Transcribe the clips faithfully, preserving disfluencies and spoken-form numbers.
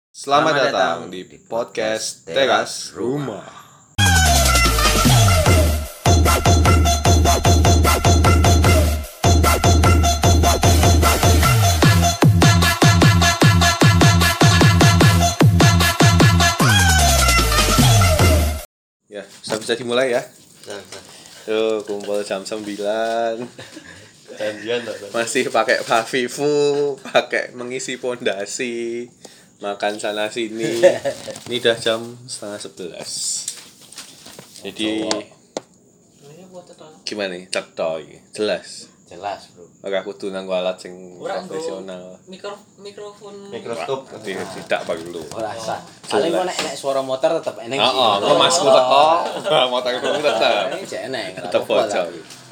Selamat, Selamat datang, datang di podcast Teras Rumah. Ya, sudah bisa dimulai ya. Tuh, kumpul jam sembilan. Masih pakai Favivu, pakai mengisi pondasi. Makan sana sini. Ini udah jam setengah sebelas. Jadi gimana nih? Cetoy, jelas. Jelas, Bro. Oke, aku tuh nanggo alat sing profesional. Mikro mikrofon mikroskop tidak tidak perlu. Ora sah. Paling kok nek nek suara motor tetep eneng. Heeh, kok masku teko. Motor ku tetep. Ini jek eneng. Tetep bocor.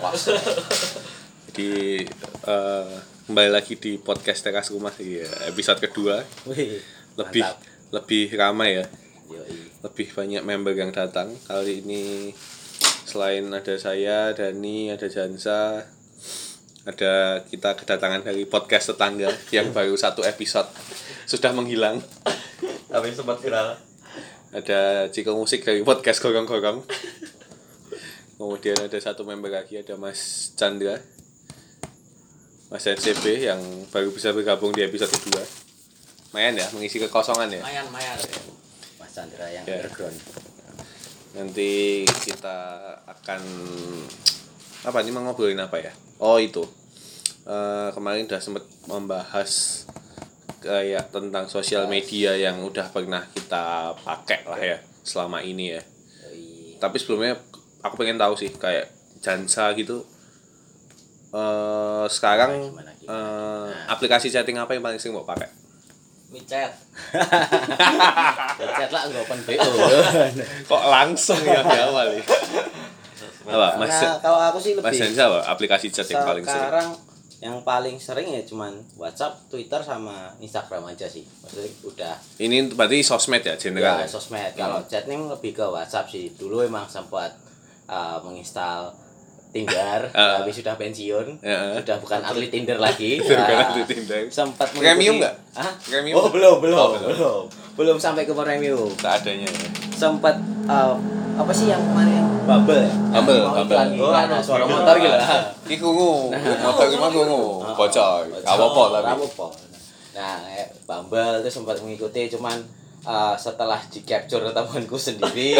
Jadi uh, kembali lagi di podcast Teras Rumah ya, episode kedua. Wih, lebih mantap. Lebih ramai ya. Yoi. Lebih banyak member yang datang. Kali ini selain ada saya, Dani, ada Jansa, ada kita kedatangan dari podcast tetangga yang baru satu episode sudah menghilang. Tapi sempat viral. Ada Ciko Musik dari podcast Gorong-Gorong. Kemudian ada satu member lagi, ada Mas Chandra, Mas N C B yang baru bisa bergabung di episode kedua. Mayan ya, mengisi kekosongan ya. Mayan, mayan. Mas Chandra yang ya. underground. Nanti kita akan apa nih, mau ngobrolin apa ya? Oh itu uh, kemarin udah sempat membahas kayak tentang sosial media yang udah pernah kita pakai lah ya selama ini ya. Yoi. Tapi sebelumnya aku pengen tahu sih kayak Jansa gitu. Uh, sekarang Gimana, gimana, uh, gimana? aplikasi chatting apa yang paling sering mau pakai? Micet. Chat lah enggak open B O. Kok langsung ya di awal ya? Apa Mas? Nah, kalau aku sih lebih Mas Jansa apa aplikasi chat yang paling sering? Sekarang yang paling sering ya cuman WhatsApp, Twitter sama Instagram aja sih. Maksudnya udah. Ini berarti sosmed ya general. Ya, Ya? sosmed. Kalau Hmm. chatting lebih ke WhatsApp sih. Dulu emang sempat uh, menginstal Tinder, Uh. tapi sudah pensiun. Ya. Sudah bukan atlet Tinder lagi. Bukan Nah, atlet Tinder. Sempat Premium nggak? Hah? Premium? Oh, belum, belum, Oh, belum, belum. belum. sampai ke premium. Seadanya ya. Sempat uh, apa sih yang kemarin Bubble ya? Bubble, Yang mau Bubble. iklan- Oh, iklan anu, suara gitu. motor gitu. Iki kungu, motor iki mah kungu, bocor. Apa-apa tapi. Apa-apa. Nah, eh, Bumble itu sempat mengikuti cuman uh, setelah di capture temanku sendiri.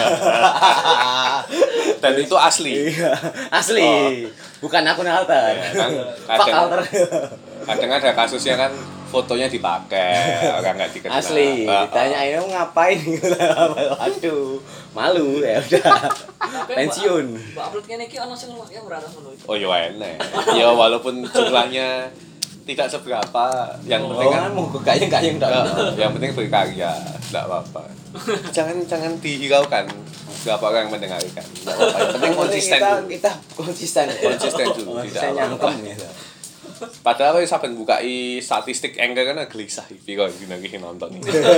Dan itu asli. Iya, asli. Bukan akun alter. Kan Fuck kadang, alter. kadang ada kasusnya kan fotonya dipakai, orang nggak dikenal. Asli. Ah, ah. Ditanyain "Kamu ngapain?" Waduh, malu ya udah. Pensiun. Mbak upload kene iki ana sing yang merata ngono iki. Oh ya enak. Ya walaupun jumlahnya tidak seberapa, yang penting kan mau gayeng-gayeng Ya, dong. yang penting berkarya, tidak apa-apa. Jangan jangan dihiraukan berapa orang yang mendengarkan. Tidak apa-apa. Yang penting konsisten kita, dulu. kita konsisten. Konsisten dulu, Konsisten tidak nyangkem apa-apa. gitu. Padahal kalau sampai bukai statistik Anchor kan gelisah iki kok gini nonton.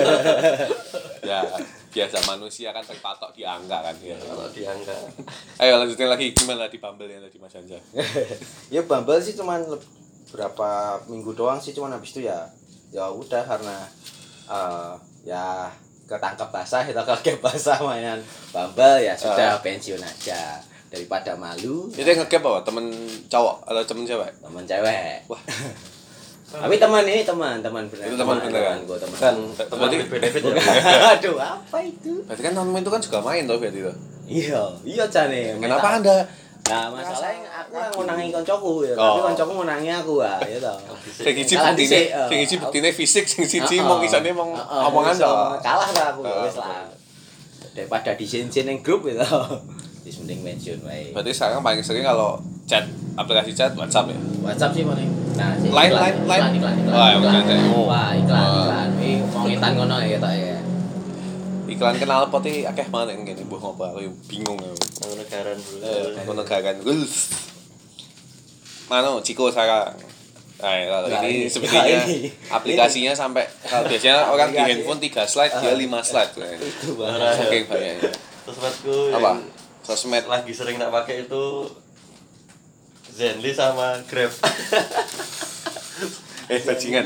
Ya, biasa manusia kan terpatok di angka kan ya. Kalau dianggap. Ayo lanjutin lagi, gimana di Bumble yang tadi Mas Anja? Ya Bumble sih cuman le- berapa minggu doang sih, cuman habis itu ya ya udah karena uh, ya ketangkep basah kita kakek basah mainan Bumble ya sudah pensiun aja daripada malu. Itu yang nge-gap apa? Temen cowok atau temen cewek? Teman cewek. Wah, Tapi teman ini teman teman beneran. Itu teman beneran. Gua teman. Kan teman berarti benefit. Aduh, apa itu? berarti kan temen itu kan juga main tuh berarti itu. Iya, iya Cane. Kenapa Anda? Nah, masalahnya aku yang ngonangi koncoku ya, Oh. tapi koncoku ngonangi aku ah, ya toh. Sing siji Kalah buktine, dhisik, eh. sing siji buktine fisik, sing siji Heeh. mau kisane mau Heeh, omongan iso. toh. Kalah lah aku Heeh, wis lah. Daripada disin-sin ning grup gitu. Wis mending mention wae. Berarti sekarang paling sering kalau chat aplikasi chat WhatsApp ya. WhatsApp sih paling. Nah, sih Lain, iklan, lain, iklan, lain. iklan, iklan, Wah, iklan. iklan, iklan. Wah, iklan, Wah. iklan. Iki wong ngitan ngono ya tok ya. Iklan kenal pot iki akeh banget yang kene mbuh ngopo aku bingung ya. Negara dulu. Eh, ngono gagan. Guls. Mano Ciko sekarang. Nah, kalau Nah, ini ini. sepertinya Nah, ini. aplikasinya sampai kalau biasanya orang di Aplikasi. handphone tiga slide, dia lima slide. Itu Nah, bahaya. saking banyaknya. Sosmedku Apa? yang Sosmed lagi sering tak pakai itu Zenly sama Grab. eh bajingan.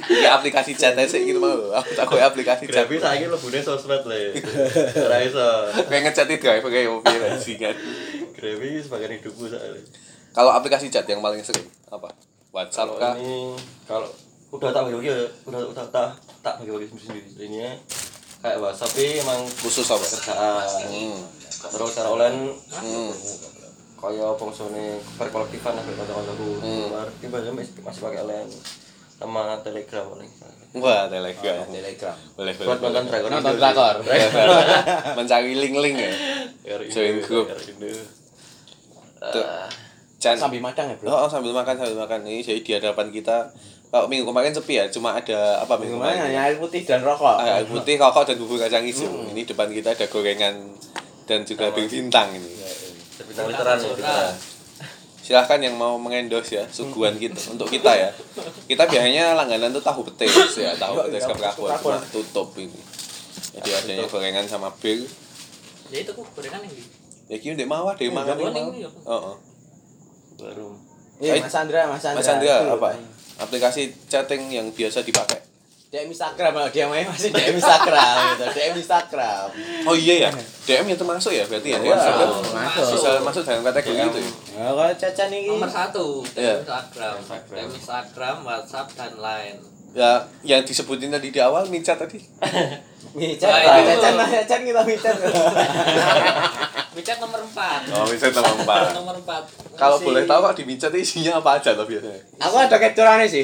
Iki aplikasi chat ae sik gitu mau. Aku tak koyo aplikasi chat. Grabi saiki lebune sosmed le. Ora iso. Pengen ngechat itu driver kayak mobil sih kan. Grabi sebagian hidupku soalnya. Kalau aplikasi chat yang paling sering apa? WhatsApp Kalau kah? ini kalau udah tak bagi-bagi ya, udah udah tak tak bagi-bagi sendiri. Ini kayak WhatsApp ini emang Khusus apa? kerjaan. Hmm. Terus cara online Hmm. kaya fungsine perkolektifan ambek kanca-kancaku. Hmm. Berarti biasanya masih masih pakai line sama Telegram paling. Wah, Telegram. Telegram. Boleh, boleh. Buat nonton drakor. Nonton drakor. Mencari link-link ya. Join grup. Tuh. Chan. Sambil madang ya, Bro. Oh, oh, sambil makan sambil makan ini jadi di hadapan kita. Kalau minggu kemarin sepi ya, cuma ada apa minggu Gimana kemarin? hanya air putih dan rokok. Ah, air putih, rokok dan bubur kacang hijau. Ini depan kita ada gorengan dan juga bir bintang ini. Bintang literan ya kita. Silahkan yang mau mengendorse ya suguhan kita untuk kita ya. Kita biasanya langganan tuh tahu petis ya, tahu petis keprabon cuma tutup ini. Jadi adanya gorengan sama bir. Ya itu kok gorengan yang di. Ya ki ndek mawah dhewe mangan gorengan mau. ini ya. Heeh. Baru. Iya, Mas Andra, Mas Andra. Mas Andra Itu. apa? Aplikasi chatting yang biasa dipakai. D M Instagram, kalau dia main masih D M Instagram gitu. D M Instagram. Oh iya ya. D M yang termasuk ya berarti ya. Iya, Instagram masuk. bisa masuk dalam kategori itu ya. Ya, kalau Caca nih Nomor satu, Iya. Instagram, Instagram. Instagram, WhatsApp dan Line. Ya yang disebutin tadi di awal micat tadi. micat, Nah, itu. Caca, Caca kita micat. WeChat nomor empat. Oh, micat nomor empat. Nomor empat. Kalau Masih- boleh tahu kok di micat itu isinya apa aja loh biasanya? Aku ada capturannya sih.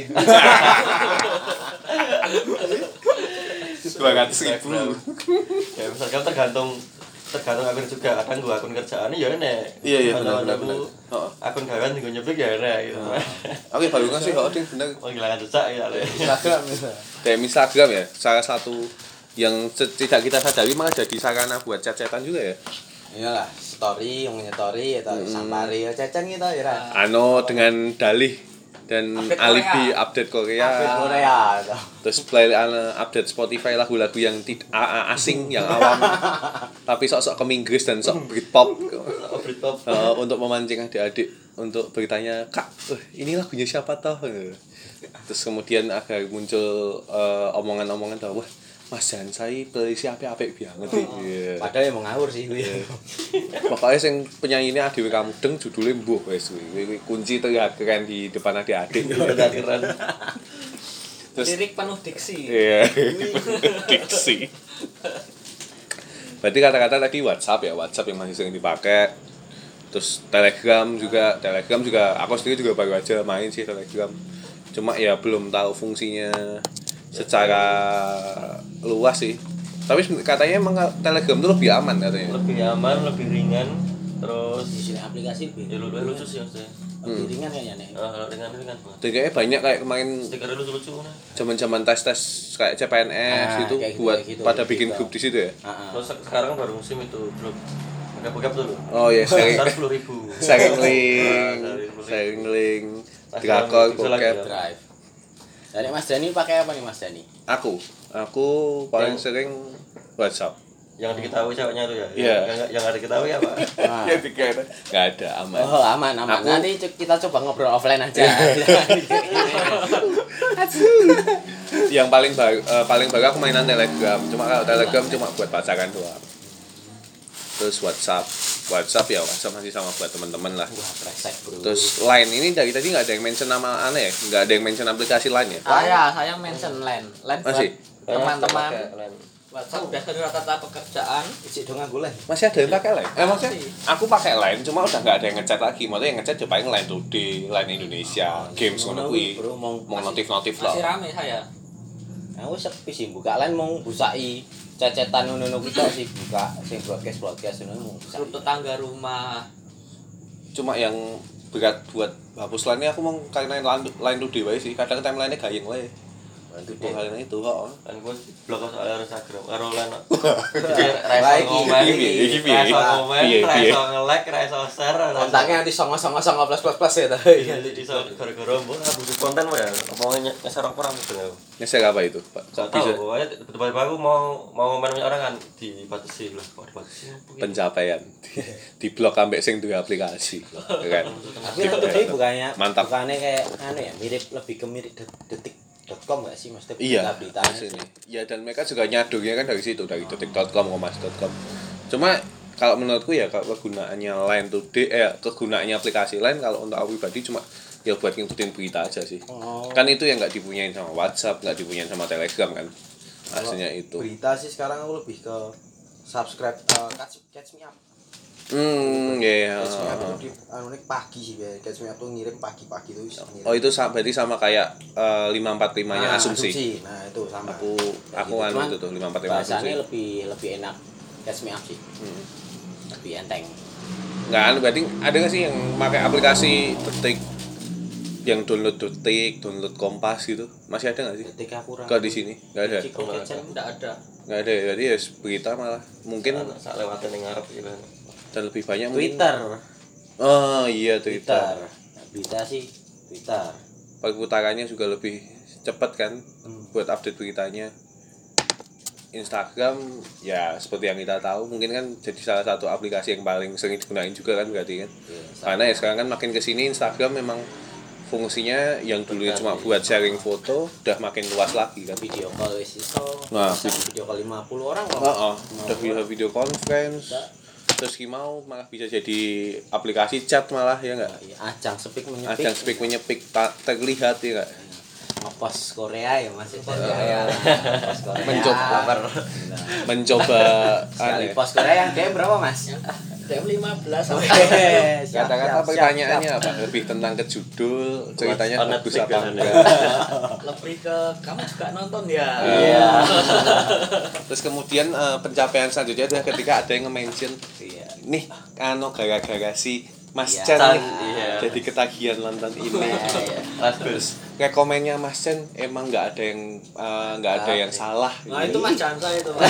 dua ratus ribu. Ya misalkan tergantung tergantung akun juga kadang gua akun kerjaan ya enek. Iya iya Kalau benar benar aku benar. Heeh. akun gawean tinggal nyeblik ya enek gitu. Oke, baru ngasih kok ding bener. Penghilangan jejak ya Le. Instagram bisa. D M Instagram ya, salah satu yang tidak kita sadari malah jadi sarana buat chat-chatan juga ya. Iyalah, story, ngomongnya story atau Hmm. sampari ya Caca gitu ya. Ra. Ano dengan dalih dan Update alibi Korea. update Korea. Update Korea atau Terus play uh, update Spotify lagu-lagu yang tid- a- a- asing yang awam tapi sok-sok ke Inggris dan sok Britpop Oh, Britpop. uh, untuk memancing adik-adik untuk bertanya kak uh, ini lagunya siapa toh. Terus kemudian agar muncul uh, omongan-omongan bahwa wah Mas Jan saya playlist apik-apik banget iki. padahal yang mau ngawur sih gue. Pokoknya sing penyanyinya Adewe Kamudeng judulnya Mbuh wis kuwi. Kuwi kunci terlihat keren di depan adik-adik. Udah keren. Terus Lirik penuh diksi. iya. Diksi. Berarti kata-kata tadi WhatsApp ya, WhatsApp yang masih sering dipakai. Terus Telegram juga, Telegram juga aku sendiri juga baru aja main sih Telegram. Cuma ya belum tahu fungsinya secara luas sih. Tapi katanya emang Telegram itu lebih aman katanya. Lebih aman, lebih ringan, terus Di sini aplikasi ya lebih lucu, lucu sih maksudnya. lebih ringan kayaknya nih. Ah, ringan ringan banget. Dan kayaknya banyak kayak kemarin Stikernya lucu-lucu nah. zaman-zaman tes-tes kayak C P N S Ah, itu kayak gitu, buat kayak gitu, pada kayak bikin gitu. grup di situ ya. Heeh. Terus sekarang baru musim itu grup bokap tuh loh. Oh iya, sharing Sekitar sepuluh ribu. sharing link, Ah, sharing link, Nah, drakor, bisa lagi bokep. ya. Drive. Dari Mas Dani pakai apa nih Mas Dani? Aku, aku paling Yang- sering WhatsApp. Yang diketahui ceweknya tuh ya. Iya. Yang yang ada diketahui apa? Nah. Ya dikira nggak ada aman. Oh aman aman. Aku- Nanti cu- kita coba ngobrol offline aja. Yang paling baru, eh, paling baru aku mainan Telegram. Cuma kalau Telegram cuma buat pacaran doang. Terus WhatsApp, WhatsApp ya WhatsApp masih sama buat teman-teman lah. Wah presek bro. Terus Line ini dari tadi nggak ada yang mention nama aneh ya, nggak ada yang mention aplikasi Line ya. Saya, saya mention Line. Line buat Masih? teman-teman. Pakai line. WhatsApp udah dari rata-rata pekerjaan. isi dong aku lah. Masih ada yang pakai Line? Eh maksudnya Masih. aku pakai Line, cuma udah nggak ada yang ngechat lagi. Maksudnya yang ngechat ya paling Line Today, Line Indonesia, games ngono kuwi. Bro mau Mau notif-notif Masih lah. rame saya. aku sepi sih buka lain mau busai cecetan ngono kita sih buka sing broadcast broadcast ngono mau busai. Grup tetangga rumah. Cuma yang berat buat hapus Line aku mau karena Line Line Today wae sih. Kadang timeline-nya gayeng wae. Bantu Oh, deh. kalian itu kok. Kan gue blok soal Instagram karo line. Jadi Wah, raiso iki- komen, iki piye, iki piye? raiso komen, Piye, piye? raiso nge-like, raiso share. raiso- Kontaknya nanti songo-songo-songo plus-plus ya ta. Iya, jadi iso gara-gara mbok ah butuh konten wae ya. Omongnya nyeser apa orang gitu ya. Ngeser apa itu, Pak? Kok Gak bisa tahu, pokoknya tiba-tiba aku mau mau komen banyak orang kan dibatasi lah, kok dibatasi. pencapaian di blok ambek sing duwe aplikasi. Kan. Tapi yang tadi bukannya Mantap. bukannya kayak anu ya mirip lebih ke mirip det- detik .com nggak sih maksudnya Iya, beritanya sini. Ya dan mereka juga nyadurnya kan dari situ, dari detik dot com, kompas dot com. Cuma kalau menurutku ya kalau kegunaannya Line Today eh kegunaannya aplikasi Line kalau untuk aku pribadi cuma ya buat ngikutin berita aja sih. Oh. Kan itu yang nggak dipunyain sama WhatsApp, nggak dipunyain sama Telegram kan. Aslinya itu. Berita sih sekarang aku lebih ke subscribe uh, catch, catch me up. Hmm, ya. Catch me up itu di anu nih pagi sih ya. Catch me up tuh ngirim pagi-pagi tuh bisa ngirim. Oh itu sama, berarti sama kayak uh, lima empat lima-nya Nah, asumsi. Nah, itu sama. Aku Kayak aku gitu. anu Cuman itu tuh lima empat lima asumsi. Bahasanya lebih lebih enak catch me up sih. Hmm. Lebih enteng. Nggak anu berarti ada nggak sih yang pakai aplikasi Detik yang download Detik, download Kompas gitu? Masih ada nggak sih? Ketika aku Kalau di sini nggak ada. Cik, kok catch up? Enggak ada. Nggak ada ya. Jadi ya berita malah mungkin sak lewatin ning ngarep gitu kan. dan lebih banyak mungkin. Twitter. Oh iya Twitter. Twitter. Berita sih Twitter. Perputarannya juga lebih cepat kan Hmm. buat update beritanya. Instagram ya seperti yang kita tahu mungkin kan jadi salah satu aplikasi yang paling sering digunain juga kan berarti kan. Iya, Karena ya sekarang kan makin kesini Instagram memang fungsinya yang dulu cuma buat sharing foto udah makin luas lagi kan. video call wis iso. Nah, Bisa video call lima puluh orang kok. Oh, oh. Udah bisa video conference. Terus mau malah bisa jadi aplikasi chat malah ya enggak? Iya, ajang speak menyepik. Ajang speak menyepik tak terlihat ya enggak? Ngepost Korea ya Mas. Post Korea. Post Korea. Mencoba. Nah, Mencoba sekali aneh. post Korea yang D M berapa Mas? D M lima belas sampai Siap, siap, Kata-kata siap, pertanyaannya siap. apa? Lebih tentang ke judul, ceritanya Buat bagus Netflix apa kan, enggak. lebih ke kamu juga nonton ya. Iya. Terus kemudian eh, pencapaian selanjutnya adalah ketika ada yang nge-mention Iya. nih anu gara-gara si Mas Iya. Chan nih Iya. jadi ketagihan nonton ini. Iya. Terus rekomennya Mas Chan emang nggak ada yang eh, nggak ada yang salah. Nah, itu Mas Jansa itu, Mas.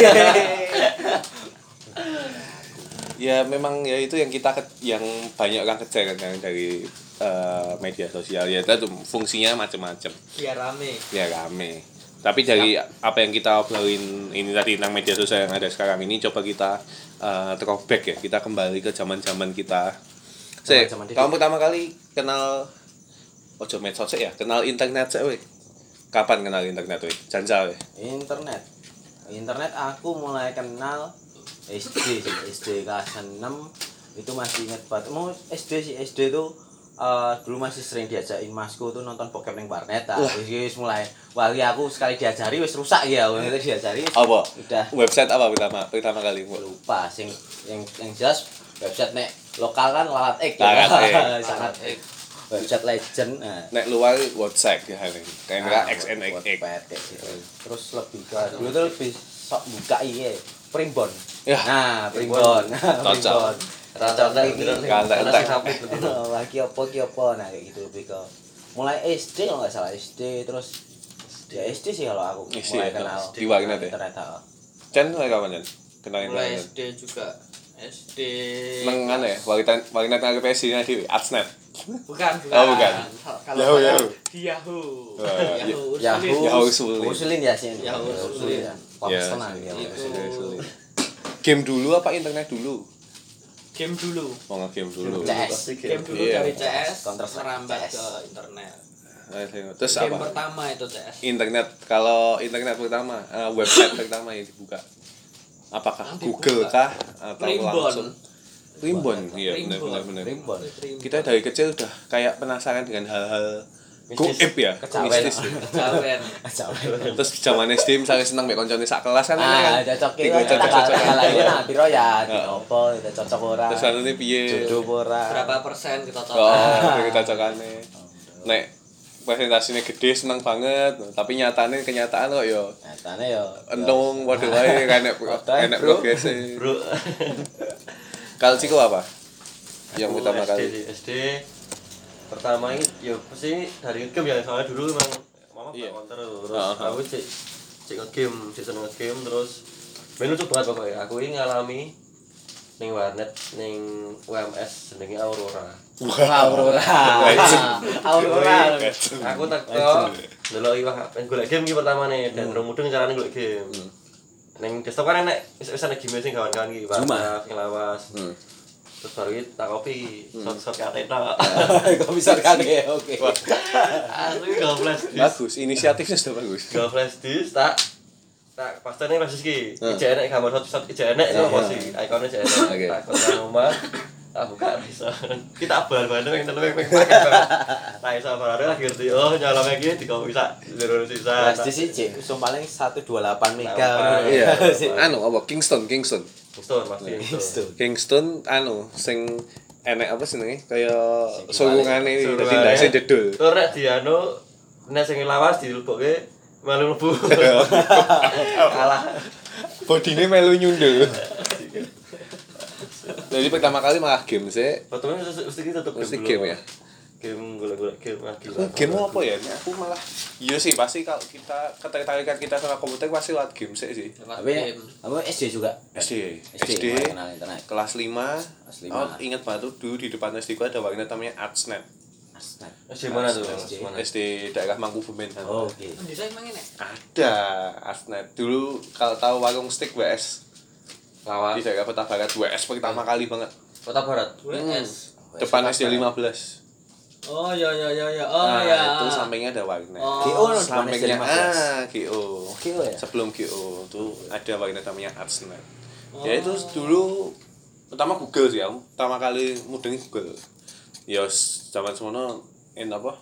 Ya memang ya itu yang kita ke- yang banyak orang kejar kan dari eh, media sosial ya itu fungsinya macam-macam Biar rame. ya rame tapi dari apa yang kita obrolin ini tadi tentang media sosial yang ada sekarang ini coba kita eh, throwback ya kita kembali ke zaman-zaman kita. Sek, Zaman-zaman dulu. kamu pertama kali kenal ojo medsos ya kenal internet sih weh kapan kenal internet weh Janjal weh Internet. Internet aku mulai kenal S D sih, S D kelas enam itu masih inget banget. Mau S D sih, S D tuh eh, dulu masih sering diajakin masku tuh nonton bokep ning warnet. Ah, wis wis mulai wali aku sekali diajari wis rusak ya, itu diajari. apa Udah website apa pertama pertama kali Bu? lupa sing yang yang jelas website nek lokal kan lalat ek Lalat Ek. sangat ek. Website legend. Nah, Nek luar WhatsApp ya ini kayak Nah, X N X X Wattpad kayak gitu. Terus lebih ke dulu tuh lebih sok buka iya primbon. Ya. Nah, primbon. Cocok. Rata-rata Primbon gitu. ini. Rata-rata. Nasi sapi gitu. Wah, ki opo ki opo nah kayak gitu lebih ke mulai S D kalau nggak salah S D terus ya S D sih kalau aku S D mulai ya, kenal di warnet ya? internet. ah. Chan mulai kapan Chan? Kenal Mulai internet? S D juga. S D. Neng mana ya? Warnet warnet nang P S nya di Adsnet. Bukan, bukan. Oh, bukan. Kalau Yahoo, saya Yahoo. di Yahoo. Oh, Yahoo. Yahoo. Ursulin. Yahoo Sulin. Ursulin ya sih. Yahoo Ursulin. Ya, Personal ya. Itu. Game dulu apa internet dulu? Game dulu. Mau nge-game dulu. C S. Game dulu Iya. dari C S Counter Strike merambat C S. ke internet. Nah, tengok. Terus Game apa? pertama itu C S. Internet kalau internet pertama, eh, website pertama yang dibuka. Apakah Yang Google dibuka. kah atau Primbon. langsung? Primbon, iya benar Primbon. benar benar. Primbon. Kita dari kecil udah kayak penasaran dengan hal-hal goib ya, Kecawen. mistis ya. Kecawen. Kecawen. Terus zaman S D misalnya seneng mek koncone sak kelas kan Ah, kan. cocok Iku iki. cocok-cocok. Kalahin nah piro ya, di Heeh. opo, itu cocok ora. Terus anune piye? Jodoh apa ora. Berapa persen kita Oh, total? iki cocokane. Nek presentasinya gede seneng banget, tapi nyatane kenyataan kok ya Nyatane yo. entung padha wae enek Padha, enek bro. progres. Bro. Kalau Ciko apa? Yang Aku pertama S D kali. sih, S D pertama ini ya pasti dari game ya soalnya dulu emang mama Iya. yeah. counter terus Heeh. aku cek cek nge-game season nge-game terus main lucu banget pokoknya aku ini ngalami ning warnet ning U M S jenenge Aurora Aurora. Aurora. aku tak kok delok iwak golek game iki pertama nih dan rung mudeng carane golek game ning desktop kan enek wis-wisan game sing kawan-kawan iki Zuma. sing lawas Hmm. terus baru itu tak kopi shot shot kate tok Komisar kage oke. aku iki gak flash disk Bagus, inisiatifnya sudah bagus. gak flash disk tak tak pastene flash disk iki Hmm. ijek enek gambar shot shot ijek enek itu apa sih ikonnya ijek enek Oke. tak kontak rumah tak buka bisa kita bal-balan yang telu yang pakai banget nah iso barare lagi ngerti oh nyalame iki dikopi sak loro sisa Pasti sih cek, usum paling seratus dua puluh delapan mega. Delapan. Iya. Sih. Anu apa Kingston, Kingston. Kingston pasti Kingston. Kingston anu sing enek apa jenenge kaya Sing sulungane Sulungane. dadi ndase jedul. Tur nek di anu nek sing lawas dilebokke melu mlebu kalah Bodine melu nyundul. Jadi pertama kali malah game sih. fotonya mesti mesti kita tutup Mesti dulu. game ya? Game golek-golek game lagi Oh, game apa ya? Ini aku malah iya sih pasti kalau kita ketertarikan kita sama komputer pasti lewat game sih sih. Tapi apa S D juga? S D, S D, S D mulai kenal internet. kelas lima. Kelas lima. Oh, ingat banget tuh dulu di depan S D ku ada warnet namanya Artsnet. Astaga. S D mana tuh? S D. Mana? S D daerah Mangkubumen. Oh, oke. Bisa emang ini? Ada Artsnet. Dulu kalau tahu warung steak W S Lawas. di daerah Kota Barat W S pertama kali banget. Kota Barat. W S. Depan S D lima belas. Oh ya ya ya ya. Oh Nah, ya. itu sampingnya ada warnet. Oh. G O no, depan S D Sampingnya lima belas. ah G O. G O ya? Sebelum G O tuh ada warnet namanya Artsnet. Oh. Ya itu dulu pertama Google sih aku. Pertama kali mudengi Google. Ya s- zaman semono en apa?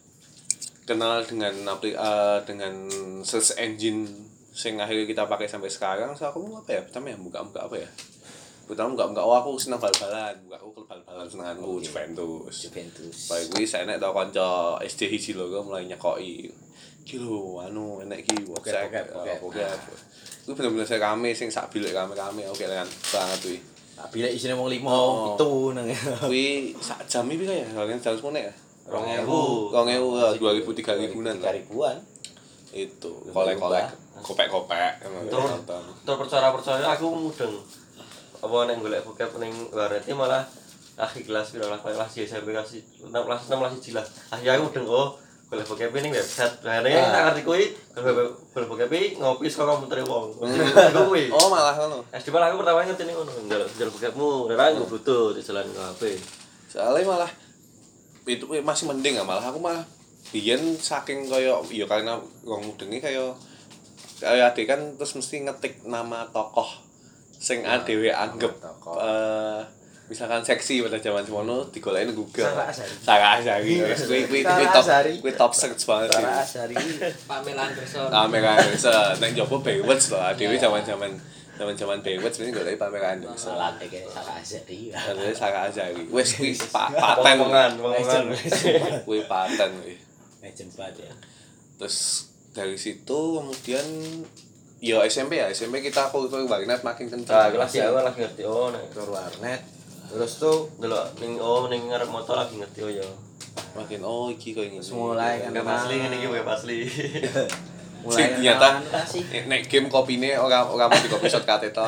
Kenal dengan apli eh, dengan search engine sing akhirnya kita pakai sampai sekarang. So aku mau apa ya? Pertama ya buka-buka apa ya? Pertama buka-buka oh aku senang bal-balan. Buka aku klub bal-balan senenganku Oke. Juventus. Juventus. Baik kuwi saya nek tau kanca S D hiji lho kok mulai nyekoki. Ki lho anu enek ki WhatsApp. Pocket, pocket, Pocket. Kuwi bener-bener saya rame sing sak bilik rame-rame oke kan banget kuwi. Tapi lek isine wong limo Oh. itu nang. Kuwi sak jam iki kaya kalian jam semene ya. Rong ewu. Rong ewu, eh, dua ribu, tiga ribuan lah. tiga ribuan. Itu kolek-kolek, kopek-kopek Terus nonton. terus percaya-percaya aku mudeng. Apa nek golek bokep ning warnet iki malah akhir kelas piro lah kelas S M P kelas enam kelas enam kelas satu lah. Akhirnya aku mudeng oh golek bokep ning website. Lah nek tak ngerti kuwi golek bokep ngopi saka komputer wong. Aku kuwi. Oh, malah ngono. S D malah aku pertama ngerti ning ngono. Njaluk njaluk bokepmu, ora nggo bluetooth jalan ke H P. Soalnya malah itu kuwi masih mending ya malah aku malah biyen saking kaya ya karena wong mudengi kaya kaya adik kan terus mesti ngetik nama tokoh sing adewe anggap tokoh. eh misalkan seksi pada zaman semono digoleki nang Google. Sarah Azhari. Sarah Azhari. Wis kuwi kuwi kuwi Sarah top Azhari. kuwi top search banget sih. Cara asari. Pamela Anderson. Pamela Anderson nang jopo Baywatch lho adewe zaman-zaman zaman-zaman Baywatch mesti goleki Pamela Anderson. Salat kayak Sarah Azhari. Terus Sarah Azhari. Wis kuwi pa- paten. Omongan, omongan. Kuwi paten kuwi. Legend banget ya. Terus dari situ kemudian ya S M P ya S M P kita aku ke warnet makin Nah, kencang. kelas ya lagi ngerti oh nek Ke warnet. Terus tuh delok ning oh ning ngarep motor lagi ngerti oh ya. Makin oh iki kok ini. mulai kan Web asli ngene iki web asli. mulai Sing ternyata kenalan lah sih. nek game kopine ora ora mau di copy shortcut to.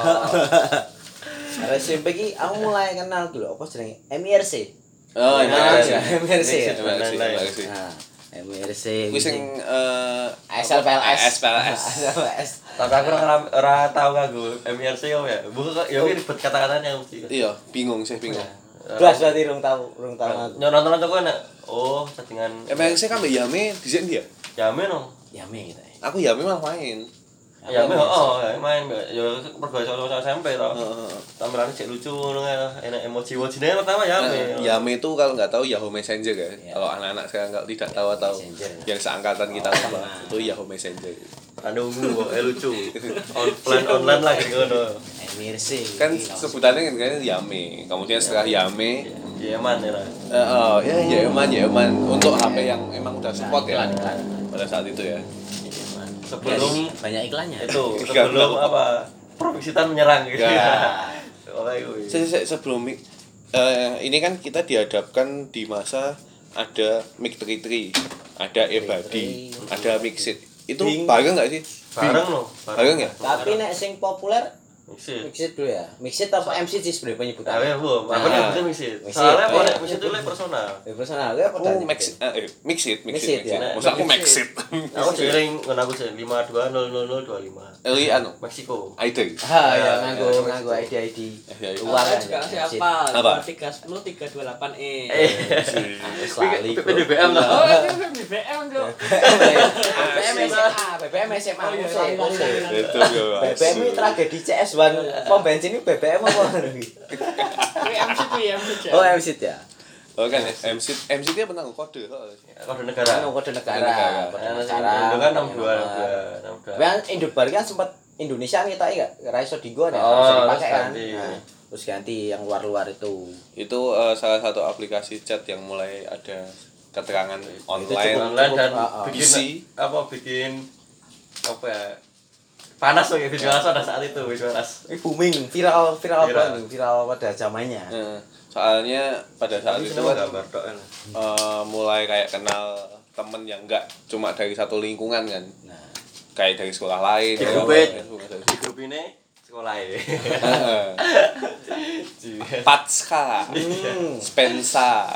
Karena S M P ki aku mulai kenal dulu apa jenenge M I R C. Oh, Nah, iya. M I R C ya. Terima kasih, terima kasih. Nah, M I R C. Kuwi sing eh S L P L S. S P L S. S L P L S. Tapi aku ora ora tau nganggo M I R C yo ya. Bukan ya ribet kata-katanya mesti. Iya, bingung sih bingung. Belas berarti rung tahu, rung tahu aku. Nyonon nonton kok enak. Oh, settingan M R C kan mbak Yame dhisik dia. Yamin no. Ya me kita. Aku Yame malah main. Yamin oh, ya main ya mergo sama S M P to. Heeh. Tampilannya cek lucu ngono ya. Enak emoji-emojine pertama Yamin. Yame itu kalau nggak tahu Yahoo Messenger ya. Iya. Kalau anak-anak sekarang nggak tidak tahu atau Messenger. yang seangkatan kita Oh, lupa sama. itu Yahoo Messenger. Anu ungu kok eh lucu. Online online lagi ngono. M I R C. Kan sebutannya kan kan Yame. Kemudian setelah Yame, Iya man ya. eh oh, ya ya eman ya eman untuk H P yang emang udah support ya Iklan, iklan. pada saat itu ya. Sebelum banyak iklannya. itu sebelum apa Proviksitan menyerang gitu. Ya. Oleh gue. Se- se- sebelum mic- eh, ini kan kita dihadapkan di masa ada mic tiga tiga, ada Ebadi, ada Mixit. Itu Bing. bareng nggak sih? Bareng loh. Bareng ya? Tapi nek sing populer Mixit. Mixit dulu ya. Mixit apa M C sih sebenarnya Ah, penyebutannya? ya, Bu. Aku Nah. nyebutnya mixit. Mixit. Soalnya Oh, apa iya. nek mixit itu lek personal. Ya personal ya apa Oh, tadi? mix eh eh, mix it, mix Mix it, it, mix it. ya. Maksud aku Mix mix it. it. Aku sering ngono aku sih lima dua nol nol nol dua lima. Eh, anu, Meksiko. I D. Ah ya Ya, nganggo ya, nganggo I D I D. Ya, ya. Luar Luar kan. juga ya, masih Mixit. apa? Apa? tiga sepuluh tiga dua delapan E. Eh. Wis lali. P D B M lah. Oh, itu B B M tuh. B B M S M A, B B M S M A. Oh, iya, lali, lali, lali. Itu yo. B B M ini tragedi C S satu pom bensin ini B B M apa? Wih, M C P, M C P. Oh M C ya. Oh kan M C M C dia pernah kode kok. Kode negara. Anu kode negara. Negara. Kode Nah, negara. Indo kan enam dua nomor. enam dua enam dua. Tapi kan Indobar kan sempat Indonesia kita enggak Raiso Digo ya, Oh, bisa dipakai terus kan. ganti. Nah, terus ganti yang luar-luar itu. Itu eh, salah satu aplikasi chat yang mulai ada keterangan online. cukup- Online dan Ah, ah. bikin Isi. apa bikin apa ya? Panas loh ya video panas pada saat itu video panas. Ini booming, viral, viral Viral. banget, viral pada zamannya. Eh, soalnya pada saat Tapi itu seneng kan gambar tok kan. eh, mulai kayak kenal temen yang enggak cuma dari satu lingkungan kan. Nah, Kayak dari sekolah lain. Di dari grup apa, it. dari- Di grup ini sekolah ya. Heeh. Patska, hmm. Spensa,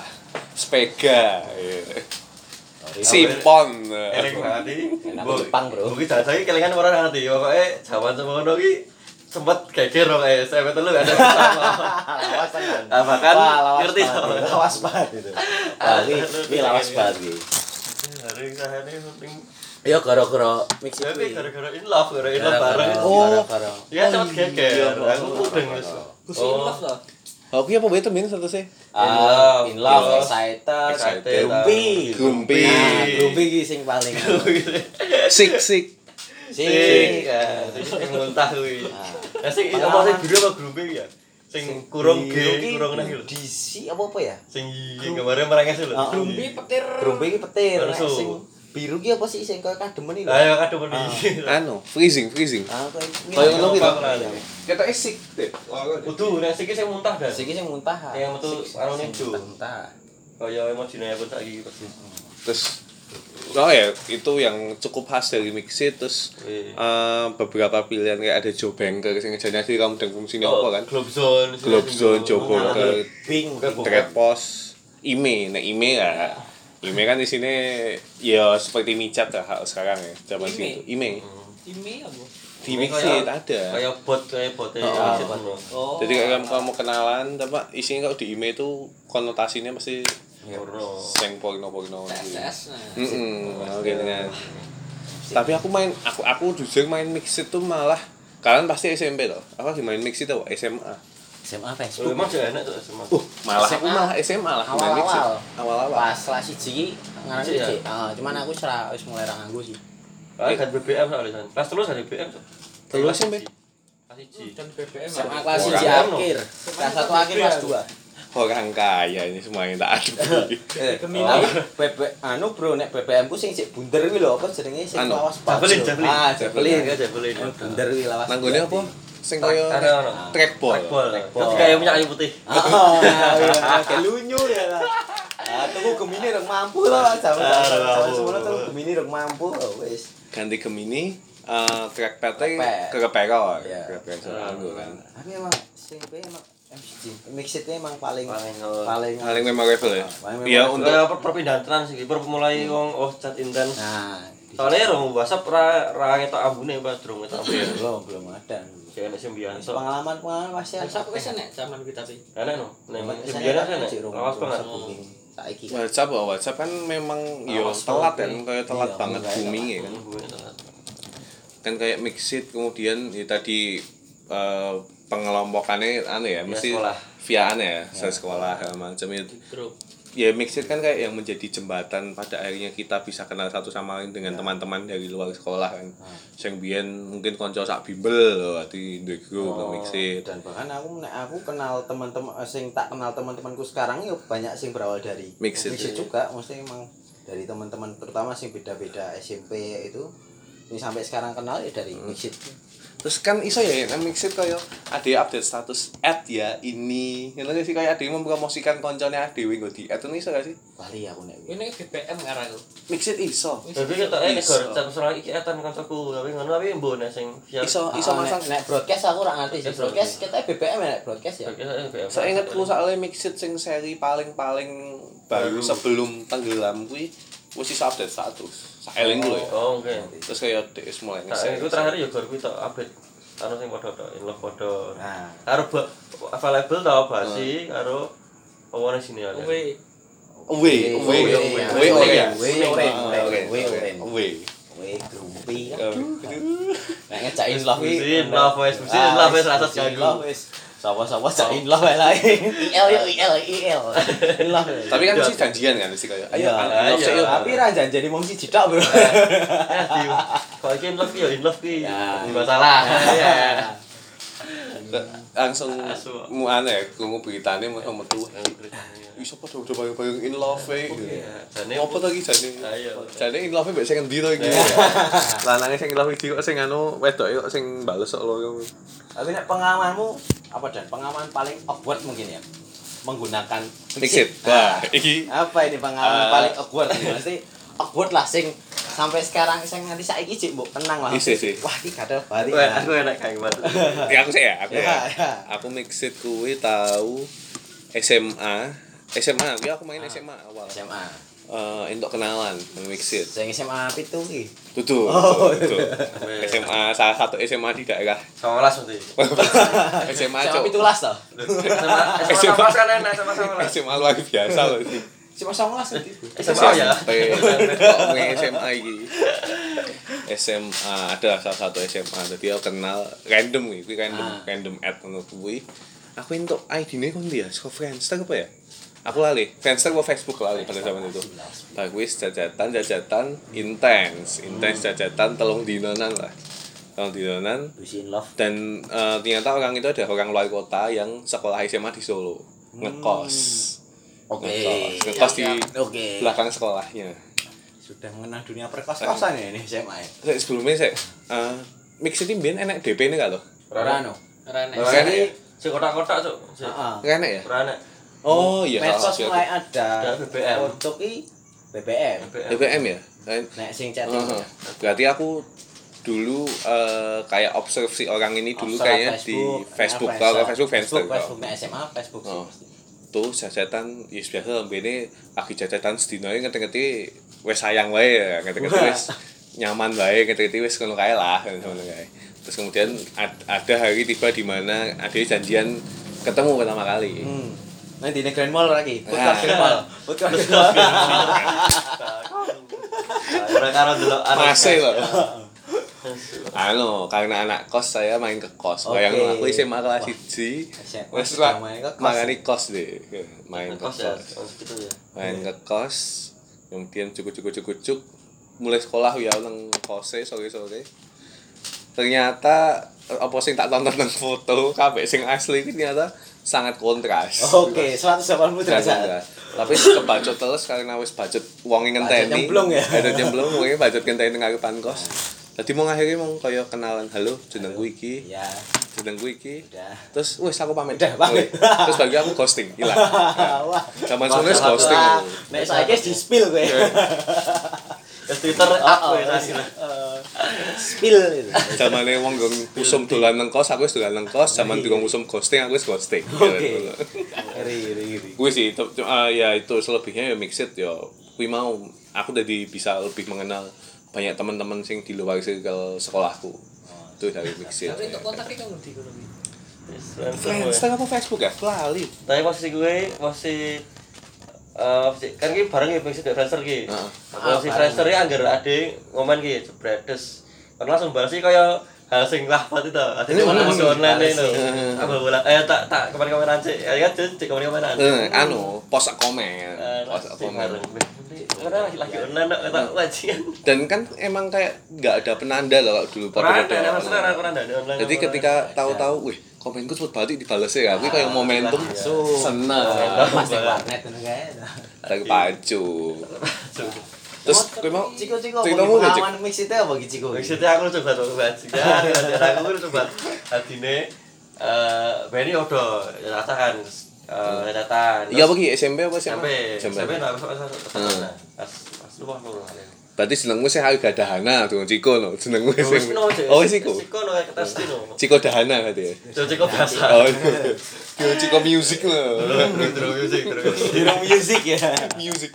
Spega, iya. Sorry. Simpon. Eling banget iki. Enak Jepang, Bro. Mungkin saiki kelingan ora ngerti. Pokoke jaman semono iki sempet geger kok eh sampe telu gak ada sama. Lawas tenan. Ah, bahkan Wah, lawas ngerti banget, sama. lawas banget itu. Wah, ini, ini lawas banget iki. Hari sahane penting. Ya gara-gara mix Ya itu. gara-gara in love, gara-gara in love bareng. Oh. gara-gara. Ya sempet geger. iya. Aku mudeng wis. Gusti in love loh. Oh, iya apa betul ini satu sih? Ah, in love, Iya. excited, Excited, grumpy. Grumpy. Nah, grumpy iki sing paling. Sik sik. Sing. Sing, kan. Sing muntah kuwi. Ya sing apa sing biru apa grumpi ya? Sing kurung G, kurung nah lho. D C apa apa ya? Sing gambarnya merenges lho. Ah, Grumpi petir. Grumpy iki petir, nek Terus. sing biru ki apa sih sing koyo kademen iki lho. Ayo kadung meni. Anu, freezing, freezing. Ah, koyo Kayak ngono ki to. Iya. Kita sik deh. Kudu nek sing sing muntah dah. Sing sing muntah. Yang metu anu nejo. Muntah. Kaya emojine pun saiki persis. Terus oh ya, itu yang cukup khas dari Mixit. Terus Wih. eh, beberapa pilihan kayak ada Joe Banker sing ngejadinya sih kamu dan fungsinya apa kan? Globe Zone. Globe Zone, Joe Banker, Bing. Trade Post, Ime, nah Ime ya. Ime kan di sini ya seperti micat lah sekarang ya zaman Ime? situ. Ime. Ini apa? Di Mixit ada. Kayak bot kayak bot ya. Oh, Mixit bot. ngono. Oh. Jadi kayak kamu, kamu kenalan, tapi isinya kalau di Ime itu konotasinya pasti Porno. seng porno-porno. T S S. Nah. Heeh, oke dengan. Tapi aku main aku aku jujur main Mixit tuh malah kalian pasti S M P toh. Aku lagi main Mixit tuh S M A. S M A Oh, Facebook. emang sih enak tuh sama. Uh, malah S M A. aku malah S M A lah main Mixit. Awal-awal. Awal-awal. Pas kelas satu iki ngaran Iya. iki. Ah, cuman aku sera wis mulai ra nganggo sih. Ah, kan B B M soalnya kan. Kelas terus kan B B M. Cok. Telu S M P? Kelas siji. Dan B B M. S M A apa? kelas Orang satu ono. akhir. Kelas satu akhir kelas dua. Orang kaya ini semuanya tak ada. Eh, Gemini. B B anu bro nek B B M ku sing sik bunder kuwi lho apa jenenge sing Anu, lawas banget. Javelin, javelin. Ah, javelin. Ya javelin. Anu bunder kuwi lawas. Nanggone apa? Sing koyo Ada ono. trackball. Trackball. Trackball. Terus kayak punya kayu putih. Oh, iya, kayak lunyu ya lah. Ah, tuku Gemini rek mampu lah zaman Ah, zaman mampu. semono tuku Gemini rek mampu oh, wis. Ganti Gemini eh trackpad-nya Trackpad. ke kepero. Iya. Trackpad soalnya kan. Tapi emang sing P emang M C G Mixitnya emang paling Paling, oh. paling Paling memorable ya. Paling Iya memorable. untuk Kayak per- perpindahan trans iki, per mulai wong oh chat intens. Nah, Soalnya rong WhatsApp ra ra ngetok ambune pas durung ngetok ambune. belum belum ada. Jangan sembilan sok. Pengalaman-pengalaman pasti ada. WhatsApp wis enek zaman kita sih. Enak no. Nek Zaman sembilan kan enak. Cik Rung, Awas banget. WhatsApp booming. Saiki kan. WhatsApp, oh, WhatsApp kan memang yo Awas telat banget, kan, kayak telat iya, banget kayak booming ya kan. Kan kayak Mixit kemudian ya tadi eh, pengelompokannya aneh ya, Via mesti sekolah. via aneh ya, saya sekolah segala macam itu. Grup. Ya Mixit kan kayak yang menjadi jembatan pada akhirnya kita bisa kenal satu sama lain dengan teman-teman dari luar sekolah kan. Sing biyen mungkin konco sak bimbel loh di the group Oh, Mixit. dan bahkan aku nek aku kenal teman-teman eh, sing tak kenal teman-temanku sekarang ya banyak sing berawal dari Mixit. juga mesti emang dari teman-teman terutama sing beda-beda S M P itu ini sampai sekarang kenal ya dari Mixit. Terus kan iso ya nang Mixit kaya ade update status add ya ini. Ngono sih kaya ade mempromosikan koncone ade nggo di add iso gak sih? Bali aku nek. Ini B B M ngarang. Mixit iso. Tapi ketoke nek Iso. gor status ora iki etan kancaku, tapi ngono tapi mbone sing via Iso iso Ah, masang. nek, nek broadcast aku ora ngerti sih. Nek Broadcast broadcast. kita B B M ya nek broadcast ya. Saya ingetku soalnya Mixit sing seri paling-paling baru Baru. sebelum tenggelam kuwi wis iso update status. Saeling lho ya. Oh, oke. Terus kaya D S mulai Nah, iku terakhir ya gor kuwi tok update anu sing padha tok, in love padha. Nah, Karo ba- available tau basi karo apa ning sini ada. Kuwi Wih, wih, wih, wih, Wih, wih, wih, wih, wih. weh grumpy. Aduh. Nek ngejain love iki. Musin love wes, musin love wes rasa ganggu. Sawa-sawa jain love wae lah. I L yo I L I L. Love. Tapi kan mesti janjian kan mesti kaya. Ayo, Iya, ayo, iya. ayo. Tapi ra janjani mung siji tok, Bro. Ya di kok iki in love ya in love ki. Ya. Enggak salah. Ya. Langsung Asu. mu aneh, krungu beritane mau metu. Iso padha udah bareng-bareng in love e. Jane Apa to iki jane? Ayo. Jane in love mbek sing endi to iki? Lanange sing in love iki kok sing anu wedoke kok sing bales kok lho. Tapi nek pengalamanmu apa dan pengalaman paling awkward mungkin ya menggunakan Mixit. Wah, iki Apa ini pengalaman Ah. paling awkward nih? Mesti awkward lah sing sampai sekarang sing nganti saiki cik mbok kenang lah. Isi, isi. Wah, iki kadal bari. Wah, aku enak kayak gimana. ya aku sih ya, aku Ya, ya. ya. Aku Mixit kuwi tahu S M A. S M A, ya aku main S M A awal. S M A. Eh, untuk kenalan nang Mixit. Sing S M A pitu ki. Tutu. Oh, tutu. S M A salah satu S M A di daerah. Sama las nanti. S M A S M A cok. pitulas to. Sama sama kan enak sama sama las. S M A luar biasa loh ini. Cuma songolas nanti. S M A ya. Sampai kok main S M A iki. S M A ada salah satu S M A jadi aku kenal random kuwi, kuwi random Ah. random add ngono kuwi. Aku entuk I D-ne kon dia, saka Friendster apa ya? Aku lali, Friendster apa Facebook lali pada zaman itu. Lah kuwi jajatan jajatan intens, intens jajatan telung dinonan lah. Telung dinonan Wis in love. dan eh, ternyata orang itu ada orang luar kota yang sekolah S M A di Solo ngekos. Oke. Ngekos, ngekos di Oke. belakang sekolahnya. Sudah mengenal dunia perkos-kosan ya ini S M A. ya? Sek, sebelumnya saya uh, Mix itu mbiyen enek D P ne gak lho? Ora no. Rene. Ora enek ya? Si kotak-kotak cuk. Heeh. Ora enek ya? Ora enak. Oh iya Medsos salah mulai satu. ada. Ada B B M. Untuk i B B M. D P M ya? Kan Nek sing chatting. uh, berarti aku dulu eh, kayak observasi orang ini dulu Observe kayaknya di Facebook Nah, kalau Facebook Friendster Facebook, Facebook nek S M A Facebook. Oh. Tuh jajatan ya biasa ini lagi jajatan sedino ngerti-ngerti wis sayang wae ya ngerti-ngerti wis nyaman wae ngerti-ngerti wis ngono kae lah ngono kae. Terus kemudian ad- ada hari tiba di mana ada janjian ketemu pertama kali. Hmm. Nah di Grand Mall lagi. Food Ah. court Grand Mall. Food court Grand Mall. Ora karo delok anak. Masih loh. Anu, karena anak kos saya main ke kos. Oke. Bayangin aku S M A kelas satu. S M A Wes sudah lah main ke kos. mangani kos deh. Main ke Kos ya. kos. Oh, gitu ya. Main ke kos. Kemudian cukup-cukup-cukup mulai sekolah ya nang kose sore-sore. Ternyata apa sing tak tonton nang foto kabeh sing asli iki ternyata sangat kontras. Oke, seratus delapan puluh Sangat derajat. kontras. Tapi kebacut terus karena wis budget wonge ngenteni. Budget nyemplung ya? Budget nyemplung wonge budget ngenteni nang ngarepan kos. Dadi mau akhirnya mau kaya kenalan, halo jenengku iki, Ya, jenengku iki. udah. Terus wis aku pamit. Udah, pamit. Terus bagi aku ghosting, hilang. Wah. Zaman sebenarnya ghosting. Wah, nek saiki di spill kowe. Ya Twitter aku ya tadi. Spill itu. Zamane wong nggon usum dolan nang kos, aku wis dolan nang kos. Zaman durung usum ghosting, aku wis ghosting. Oke. Ri ri ri. Kuwi sih itu uh, ya itu selebihnya ya Mixit ya kuwi mau aku jadi bisa lebih mengenal banyak teman-teman sing di luar circle sekolahku. Itu dari Mixit. Tapi untuk kontaknya kan ngerti kono iki. Friendster apa Facebook ya? Lali. Tapi posisi gue masih eh kan ki bareng ya posisi Friendster ki. Heeh. Posisi Friendster ya anggar ade ngomen ki jebredes. Kan langsung balas sih kaya hal sing lahpat itu. Ada di Ini masuk online balas itu. sih. Apa bola eh tak tak kemarin-kemarin sih. Ya kan cek kemarin-kemarin. Eh, anu, post komen, Eh, post sing komen. bareng. Karena lagi lagi online kata wajian. Dan kan emang kayak nggak ada penanda loh kalau dulu Ora pada ada masalah ora ada online. Jadi ketika tahu-tahu, wih komenku cepet balik dibales ya, aku kayak momentum Langsung. seneng, Mas nek warnet ngono kae. terpacu. Terus kowe mau Ciko-ciko ceritamu nggak, Cik? pengalaman mix itu apa gitu Ciko? Maksudnya aku coba tuh bahas ya, aku udah coba adine eh Benny udah catatan eh catatan. Iya apa ki S M P apa sih? Sampai S M P. sampai nah pas pas pas lu mau lu. Berarti senengmu sih harus gak dahana tuh Ciko no. Senengmu Wis sih. no, Oh wis iku. Ciko no ketes no. Ciko dahana berarti ya. Ciko biasa. Oh. Yo Ciko music lo. Terus music terus. Hero music ya. Music.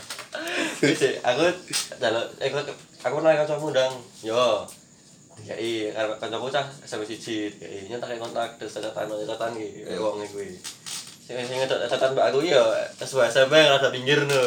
Wis aku jaluk aku aku nanya kancamu ndang. Yo. Dikai karo kancaku cah S M P siji, dikai nyentak kontak terus catatan catatan iki wong kuwi. Sing sing catatan mbak aku ya S dua S M P rada pinggir no.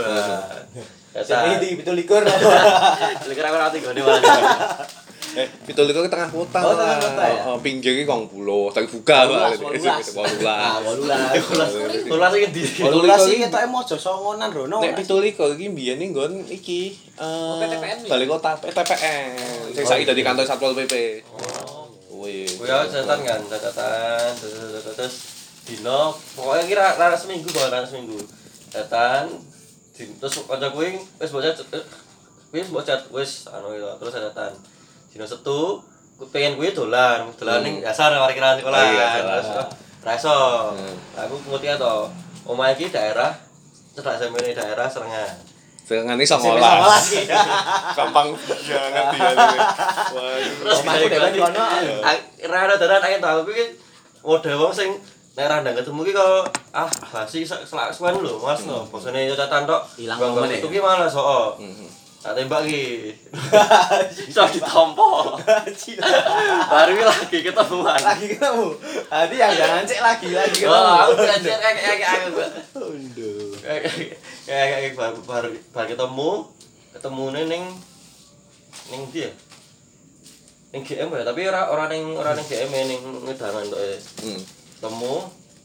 Jadi di betul likur. Likur aku rati gone malah. Eh, pitul itu ke tengah kota. Oh, tengah kota ya? Oh, pinggir iki kong pulau, tapi buka Wolulas, Pak. wolulas. Ah, wolulas. Tulas iki ndi? Wolulas iki ketoke mojo songonan rono. Nek pitul iku iki mbiyen iki nggon iki eh P T P N ya? Balik kota P T P N. Sing saiki dadi kantor Satpol P P. Oh. Wih. Kuwi catatan kan, catatan terus dino pokoknya kira rara seminggu kok rara seminggu. Catatan terus kanca kuwi wis bocah wis bocah wis anu itu terus catatan. Dino Setu pengen kuwi dolan, dolan ning dasar parkiran sekolah. Terus ra iso. Aku ngerti to. Omah iki daerah cedak semene daerah Serengan. Serengan iki songolas. Gampang banget dia. Terus Omahku dhewe di kono. Ra ada dalan ae to aku iki model wong sing nek ra ndang ketemu ki kok ah basi selak suwen lho Mas no. Bosone catatan tok. Ilang momen ya? Itu ki malah soo. Tak tembak ki. Iso ditampa. Baru lagi ketemuan. Lagi ketemu. Tadi yang jangan cek lagi lagi ketemu. Oh, aku belajar kayak kayak aku. Aduh. Kayak kayak baru baru baru ketemu, ketemune ning ning ndi ya? Ning G M ya, tapi ora ora ning ora ning G M ning ngedangan tok e. Hmm. Ketemu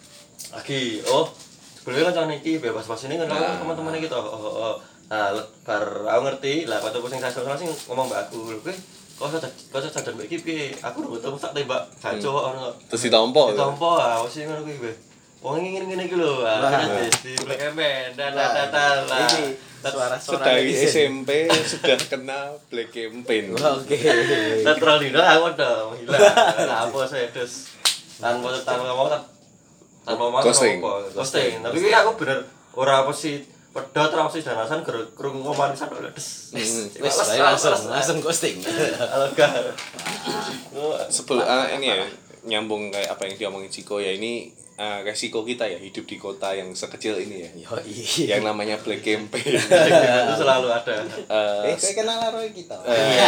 lagi. Oh, sebelumnya kan iki bebas pas ini kan teman-teman iki to. Oh, oh. Nah, bar aku ngerti lah kancaku sing sastra sing ngomong mbak aku, "Kowe kok sadar kok sadar mbak iki piye? Aku udah ketemu sak tembak gaco ono." Terus ditampa. Ditampa ah, wis ngono kuwi kowe. Wong ngene-ngene iki lho, ah di Black Campaign dan dan lah. Ini suara-suara Dari netizen. S M P sudah kena Black Campaign. Oke. Netral dino aku udah hilang. Lah apa saya terus tanpa tanpa ngomong tanpa ngomong Ghosting. apa, ghosting. Tapi kuwi aku bener ora apa sih pedot ra sih danasan krungu ngomong sak des. Wis bae langsung langsung ghosting. Alega. Sebelum ah, ini ya nyambung kayak apa yang diomongin Ciko ya ini uh, resiko kita ya hidup di kota yang sekecil ini ya. Yo iya. Yang namanya Black Campaign. Itu selalu ada. Eh, Eh, kowe kenal karo kita.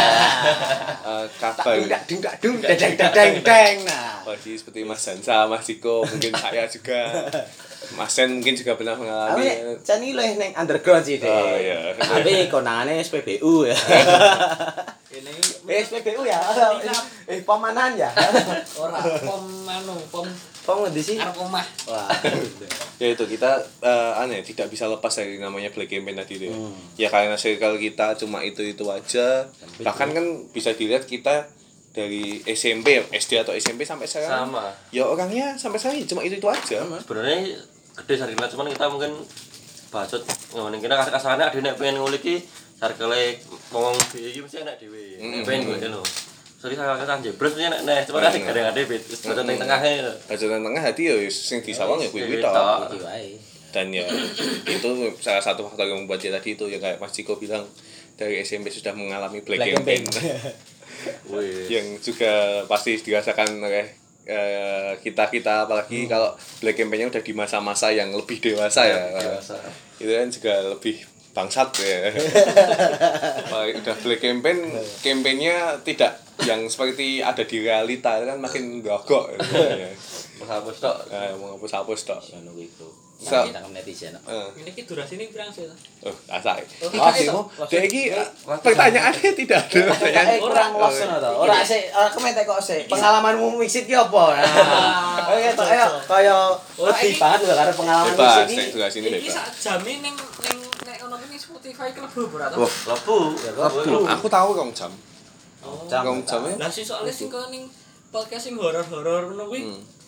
eh, kabar Dak dung dak dung dadang dadang dang. Nah. Pasti seperti Mas Hansa, Mas Ciko, mungkin saya juga. Mas Sen mungkin juga pernah mengalami. Awe jani leh ning underground sih, Dek. Oh, iya. Tapi konangane S P B U ya. Ini Eh, S P B U ya. Eh, pemanan ya. ora pom anu, pom Pom ngendi sih? arep omah. Wah. Ya itu kita eh, aneh tidak bisa lepas dari namanya Black Campaign tadi itu ya. Hmm. Ya karena circle kita cuma itu-itu aja. Bahkan kan bisa dilihat kita dari S M P, S D atau S M P sampai sekarang. Sama. Ya orangnya sampai sekarang cuma itu-itu aja. Sebenarnya gede sarjana cuman kita mungkin bacot ngomongin kita kasar-kasarane ade nek pengen ngulik iki sarkele ngomong iki mesti enak dhewe. Nek pengen ngono lho. Sorry saya kata jebres punya nek nek cuma kasih kadang-kadang bet wis bacot ning tengah e. Bacotan tengah hati ya sing disawang ya kuwi-kuwi tok. Iki wae. Dan ya itu salah satu faktor yang membuat dia tadi itu ya kayak Mas Ciko bilang dari S M P sudah mengalami Black, Black Campaign. Wih. Yang juga pasti dirasakan oleh eh, kita-kita apalagi Hmm. kalau Black Campaign-nya udah di masa-masa yang lebih dewasa ya. Dewasa. Itu kan juga lebih bangsat ya. Wah, udah Black Campaign, campaign-nya tidak yang seperti ada di realita kan makin gagok gitu ya. Hapus tok. Nah, mau hapus-hapus tok. Ngono kuwi, Bro. So- Nah, kita netizen. Eh, Ini ki durasi ini pirang sih? oh, asa. Oh, Wah, kita Simo, itu. dia iki pertanyaannya tidak ada pertanyaan. Eh kurang los ngono to. Ora sik, ora kemetek kok sik. Pengalamanmu mixit ki apa? Nah. Oke to ayo kaya wedi banget lho karo pengalaman Bebas, mixit saya iki. juga sini Ini bebas. sak jame ning ning nek ono ini Spotify klebu ora to? Wah, Lepu. Lebu. Aku tahu rong jam. Oh. Jam. Rong jam ya. Lah sih soalnya sing kok ning podcast sing horor-horor ngono kuwi. Hmm.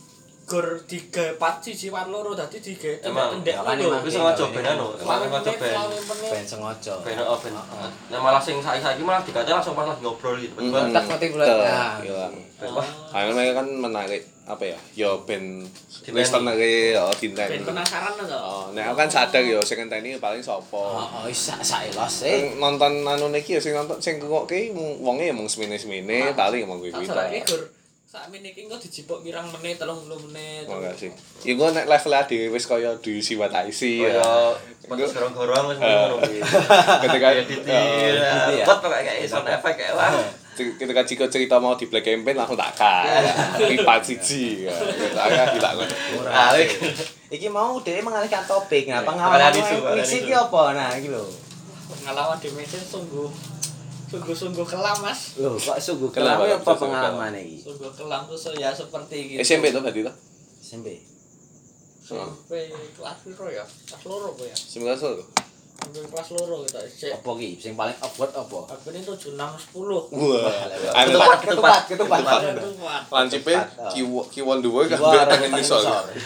gor digawe pat siji pat loro dadi digawe Emang, tendek ya kan lho. emang. Wis sengaja ben anu, emang sengaja ben. Ben sengaja. Ben oh ben. Nah malah sing saiki-saiki malah dikate langsung pas lagi ngobrol gitu. Hmm. Tiba-tiba Tak mati bulan. Betul, Nah, iya. ben wah Ayo mereka kan menarik apa ya? Yo ben Dinten. listener e oh dinten. Ben penasaran to. Oh, nek aku kan sadar yo sing ngenteni paling sapa. Oh, oh isa saelos eh. Sing nonton anu niki ya sing nonton sing ngrungokke mung- wonge ya mung semene-semene paling mung kuwi-kuwi. Tak jarake gor sakmene iki engko dijipuk pirang menit telung puluh menit. Makasih. Ya gua nek level dhewe wis kaya do you see what I see ya. kaya pas gorong-gorong wis ngono kuwi. Ketika Kayak titir, ya. buat kayak sound effect kayak wah. ketika Ciko cerita mau di Black Campaign langsung tak kan. Pipat siji ya. Saya hilang. Murah. Iki mau dhewe mengalihkan topik. Nah, pengalaman Kalian isu, kalian puisi isu. iki apa? Nah, iki lho. Pengalaman di mesin sungguh sungguh-sungguh kelam Mas. Loh, kok sungguh Kelam, kelam apa sungguh pengalaman iki? Sungguh kelam terus ya seperti gitu. S M P tuh berarti tuh. S M P. Sampai kelas piro ya? Kelas loro apa ya? Sembilan satu. Sampai kelas loro gitu. Cek Apa ki? Sing paling awkward apa? aku ini tujuh enam sepuluh. Wah. Ketupat, ketupat, ketupat. Anu lancipe kiwon kiwon duwe Kiwa kabeh tangan tangan isor.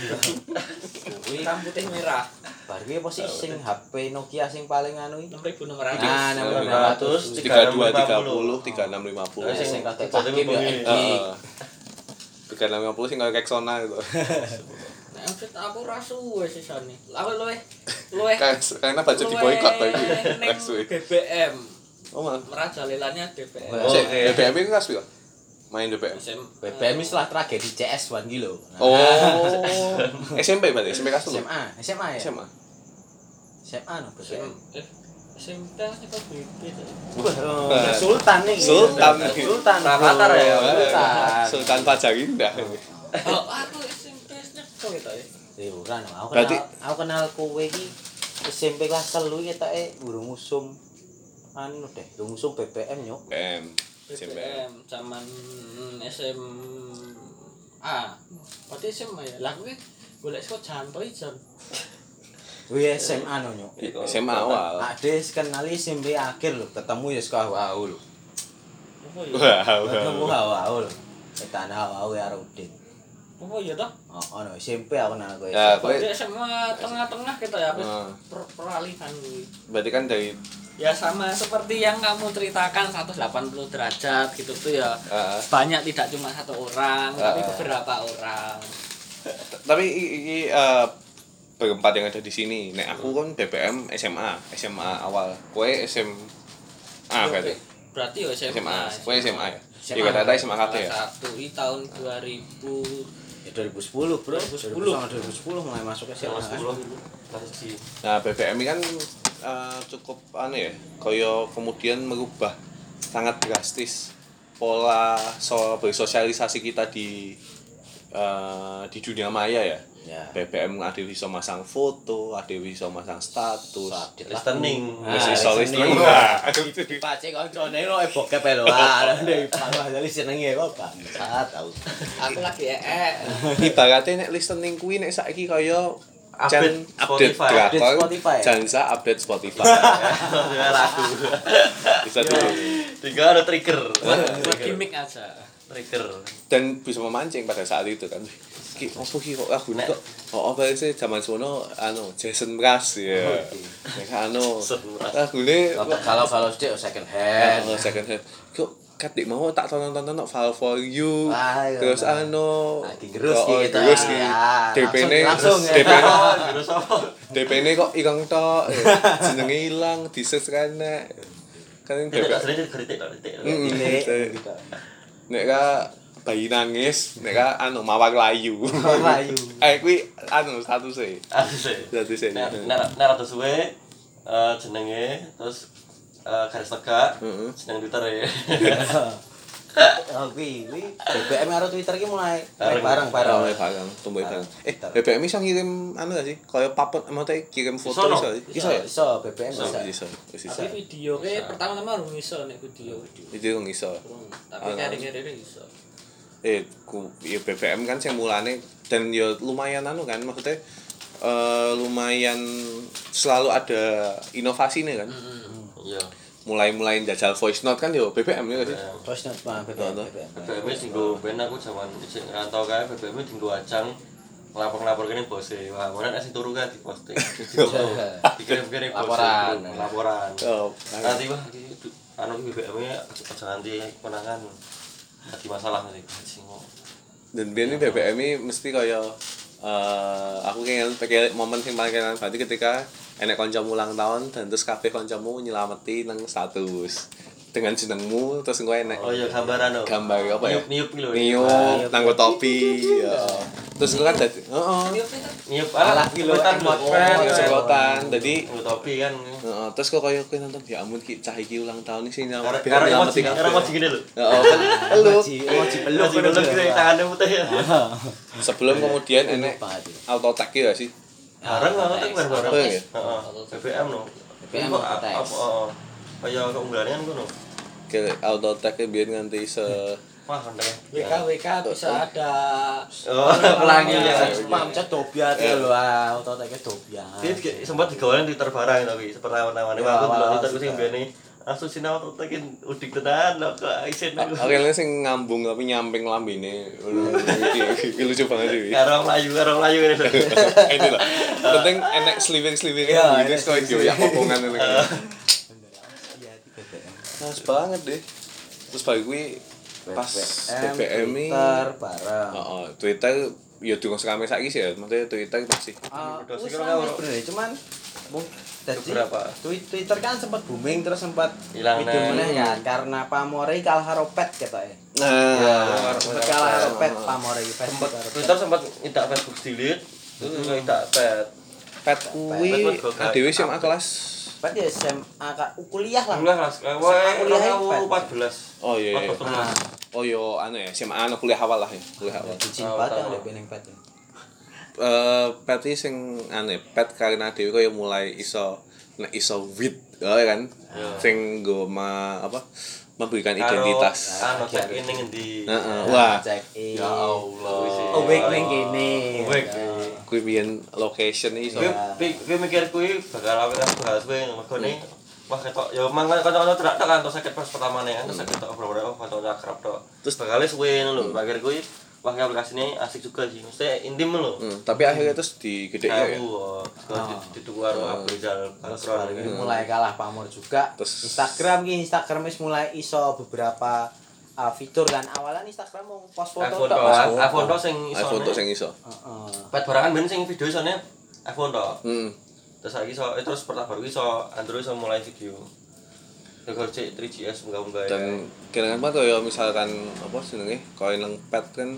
Kuwi Hitam putih merah. bar kuwi apa sih sing H P Nokia sing paling anu iki? enam ribu enam ratus. Nah, enam ribu enam ratus. tiga dua tiga puluh tiga enam lima puluh. Sing Sing kate kate pakai ya bengi. anjing. tiga enam lima puluh sing kaya Rexona gitu. Nah, maksud aku ra suwe sisane. Aku luwe luwe Karena baca di boykot to iki. ning B B M. Oh, mah. Merajalelanya B B M. Oh, Sik, Oke. B B M itu kas piro? Main B B M. B B M wis lah tragedi C S satu ki lho. Oh. S M P berarti, S M P kelas S telu. M A, S M A ya? S M A. S M A no B B M. S M P itu B B. Wah, Sultan nih. Sultan. Sultan. Rafathar ya? Sultan. Sultan Fajar Indah. Oh, aku S M P nyekol gitu ya. Eh, ora no. Aku Berarti- kenal aku kenal kowe iki S M P kelas telu iki ketoke burung usum anu deh, burung usum B B M yo. B M. B S M B P. M zaman S M A. Berarti S M A ya. Lah kuwi golek saka Janto ijon. Kuwi S M A no nyok. S M A awal. Ade kenali S M P akhir lho, ketemu ya sekolah wau lho. Apa ya? Wah, Ketemu wah. wau lho. Kita ana wau karo Udin. Apa ya toh? Oh, ono S M P aku kenal kowe. Ya, kowe Berarti S M A tengah-tengah kita ya habis Ah. per- peralihan kuwi. berarti kan dari Ya sama seperti yang kamu ceritakan seratus delapan puluh derajat gitu tuh ya. ah, Banyak tidak cuma satu orang, tapi Ah. beberapa orang. tapi iki eh, berempat yang ada di sini. Nek aku kan B B M S M A, S M A awal. Kowe S M A berarti. Berarti ya S M A. S M A. Kowe S M A ya. S M A. Iya kata S M A kabeh ya. Satu ini tahun dua ribu. Ya dua ribu sepuluh, Bro. dua ribu sepuluh. dua ribu sepuluh mulai masuk S M A. Kelas kan? sepuluh kelas siji. Nah, B B M ini kan eh, cukup anu ya, kaya kemudian merubah sangat drastis pola so bersosialisasi kita di eh, di dunia maya ya. Ya. B B M ada yang bisa masang foto, ada yang bisa masang status. Update Listening. Ah, Wis iso listening. listening. Nah, Dipace koncone lo e bokep e lho. Ah, ndek panas jadi senenge kok bangsat tau. Aku lagi ee. ibaratnya nek listening kuwi nek saiki kaya Update jan update Spotify. drakor, Update Spotify. jansa update Spotify. Ya lagu. Bisa dulu. Tinggal ada trigger. Buat gimmick aja. Trigger. Dan bisa memancing pada saat itu kan. Ki opo ki kok lagu kok oh apa sih zaman sono anu Jason Mraz ya. Nek anu Jason Mraz. lagune Kalau kalau sih second hand. oh, second hand. Kok katik mau tak tonton-tonton no Fall for You. Ah, iya, Terus nah. anu Nah, digerus oh, ki kita. digerus ki. Ya, D P-ne langsung, langsung ya. D P-ne Terus apa? D P-ne kok ireng tok. ya. Jenenge ilang, di-search kan nek. Kan D P. Tidak sering kritik kritik. Mm. Ini Mm. Nek ka bayi nangis, nek ka anu mawar layu. Layu. Eh kuwi anu statuse. Aku sih. Statuse. Nek nek nek rada suwe eh, jenenge terus eh, garis tegak Heeh. jeneng Twitter ya. Oh, kuwi, kuwi B B M karo Twitter ki mulai Bareng. bareng Barang bareng. barang, tumbuh barang. Eh, Twitter. B B M iso ngirim anu gak sih? Kaya papet maksudnya kirim foto Iso, no? iso. Iso ya? Iso B B M Iso, bisa. iso. Wis iso. Tapi video ke pertama-tama harus iso nek video. Itu yang iso. Tapi Ah, kari-kari iso. Eh, ku ya B B M kan sing mulane dan ya lumayan anu kan maksudnya eh lumayan selalu ada inovasi nih kan. Iya. Mulai-mulai jajal voice note kan yo B B M ya sih. Terus nek B B M. Betul, B B M. B B M wis dinggo ben aku jaman isih ngrantau kae B B M dinggo ajang lapor-lapor kene bos e. Wah, mana sing turu kan diposting. Dikirim-kirim bos. Laporan. Laporan. Oh, Nanti wah iki anu B B M-nya aja nganti konangan. Dadi masalah nanti sing dan biar ini B B M ini mesti kaya uh, aku kayak pakai momen yang paling kenal berarti ketika enek kancamu ulang tahun dan terus kabeh kancamu nyelameti nang status dengan jenengmu terus engko enek oh iya gambaran lho gambar apa ya niup niup lho niup nanggo topi ya terus engko kan dadi heeh niup ala kilo semprotan lho semprotan dadi nanggo topi kan heeh terus kok kaya kowe nonton ya ampun ki cah iki ulang tahun iki sing karo emoji karo emoji gini lho heeh kan peluk emoji peluk peluk tangannya putih ya sebelum kemudian enek auto tag ya sih bareng banget kan bareng Bareng heeh ya? B B M no B B M apa heeh kaya keunggulannya kan ngono ke auto tag biar nganti se wah kenteng W K W K bisa ada oh pelangi ya spam chat dobiat lho ah auto tag dobiat dia sempat digawain Twitter barang tapi pertama-tama aku delok Twitter ku sing mbene langsung sinau auto tag udik tenan lho kok isen aku akhirnya sing ngambung tapi nyamping lambene iki lucu banget sih karo mlayu karo mlayu ini lho itu lah penting enek sliwing-sliwing gitu kok yo ya pokongan ngene Mas banget deh. Terus bagi gue pas B B M ini Twitter bareng. Heeh, Twitter ya durung sekame saiki sih ya. Maksudnya Twitter masih Ah, Udah wis sih, rame kalau- sebenarnya cuman mung dadi Beberapa. Twi- Twitter kan sempat booming terus sempat Hilang video neh. meneh kan karena pamore kalah karo Pet ketoke. nah Sempat kalah karo Pet pamore sempat Facebook karo Pet. Twitter sempat tidak Facebook delete terus tidak pet pet kuwi dhewe sing kelas Pet ya S M A ka kuliah lah. kuliah kelas wae Kuliah dua ribu empat belas Oh iya iya. Nah, Oh yo anu ya, S M A anu kuliah awal lah ya, kuliah awal. izin Oh, banget tahu. yang peneng Pet. Ya. Eh pet iki sing anu ya, pet karena dhewe kaya mulai iso nek iso wit ya kan. Sing nggo ma apa memberikan identitas. anu cek ini ngendi Heeh. Wah, Cek in. ya Allah Oh, wek ning kene. Wek. kuwi biyen location iki iso. gue gue mikir gue bakal awet aku bahas gue mergo ne wah ketok ya mang kanca-kanca terak tok kan sakit pas pertama nih kan sakit tok beberapa kanca akrab tok terus bakal suwe ngono lho mikir gue wah aplikasi ini asik juga sih mesti intim lho Hmm, tapi akhirnya terus digedhe ya. aku dituku karo Abu Rizal Terus Bakron baru ini mulai kalah pamor juga. Terus- Instagram ki Instagram wis mulai iso beberapa uh, fitur kan. Awalan Instagram mau post foto iPhone tok. tok Mas. iPhone tok sing iso iPhone tok sing iso. Heeh. pet barangan ben sing video isone iPhone tok Heeh. terus saiki iso eh, terus pertama baru iso Android iso mulai video Terus cek tiga G S munggah-munggah Dan kira-kira apa kaya misalkan apa jenenge kaya nang pet kan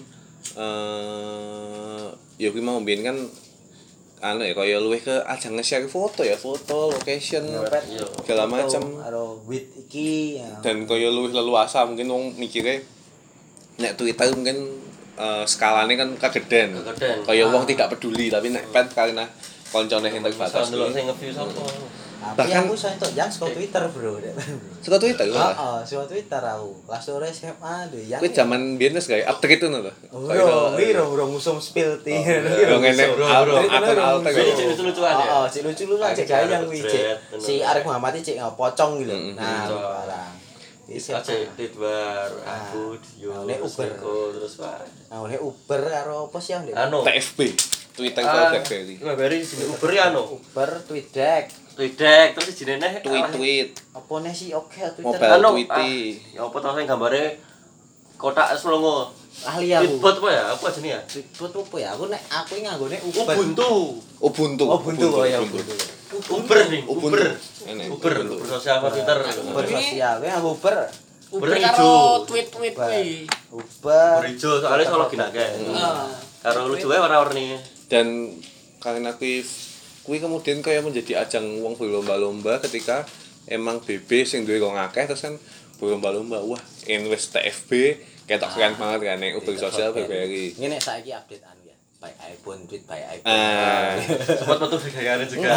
eh ya kuwi mau mbiyen kan anu ya kaya luwih ke ajang nge-share foto ya, foto, location, Pet Iya. segala foto macam. karo with iki ya. Dan kaya luwih leluasa mungkin wong mikire nek Twitter mungkin eh, skalane kan kageden. Kageden. Kaya wong tidak peduli tapi nek pet karena koncone sing terbatas. Bisa ndelok sing nge-view sapa Tapi bahkan- aku iso entuk yang saka Twitter, Bro. Suka Twitter Heeh, lah. saka Twitter aku. Kelas sore S M A deh yang. Kuwi zaman biyen wis gawe update itu lho. Bro, wiro bro ngusum spill ti. Yo ngene akun alter Jadi kok. cek lucu-lucuan ya. Oh, cek lucu-lucuan cek gawe yang kuwi cek. Bener. Si Arif Muhammad iki cek ngopocong gitu. Mm, Nah, mm. barang. Isi Bisa cek Tidbar, Ah. aku, Dio, Nah, nek terus Uber. Niko, terus Pak. Nah, oleh Uber karo apa sih yang Dek? Anu. T F B. Twitter Ah, BlackBerry. BlackBerry sini Uber ya anu. Uber tweet Tweedek terus jenenge neh Tweet-tweet, apa nih sih oke Twitter mobile Anu, tweety. ah, ya apa tau sing gambare kotak selongo. ahli aku. Tweetbot apa ya? Apa jenenge ya? Tweetbot apa ya? Aku nek aku nganggone Uber. Ubuntu. Ubuntu. Oh, Ubuntu oh ya Ubuntu. Uber nih, Ubuntu. Uber. Enak, Uber, Ubuntu. Uber sosial apa Twitter. Uber sosial, kowe nganggo Uber. Uber Uber karo ijo. tweet-tweet kuwi. Uber. Uber ijo soalnya solo gina akeh. Heeh. Karo lucu wae warna-warni. Dan karena kuwi kuwi kemudian kaya menjadi ajang wong berlomba-lomba ketika emang B B sing duwe kok ngakeh terus kan berlomba-lomba wah invest T F B ketok keren banget kan nek Uber sosial BlackBerry. Ngene saiki update anu ya. By iPhone tweet by iPhone. Ah, Sempat metu gaya juga.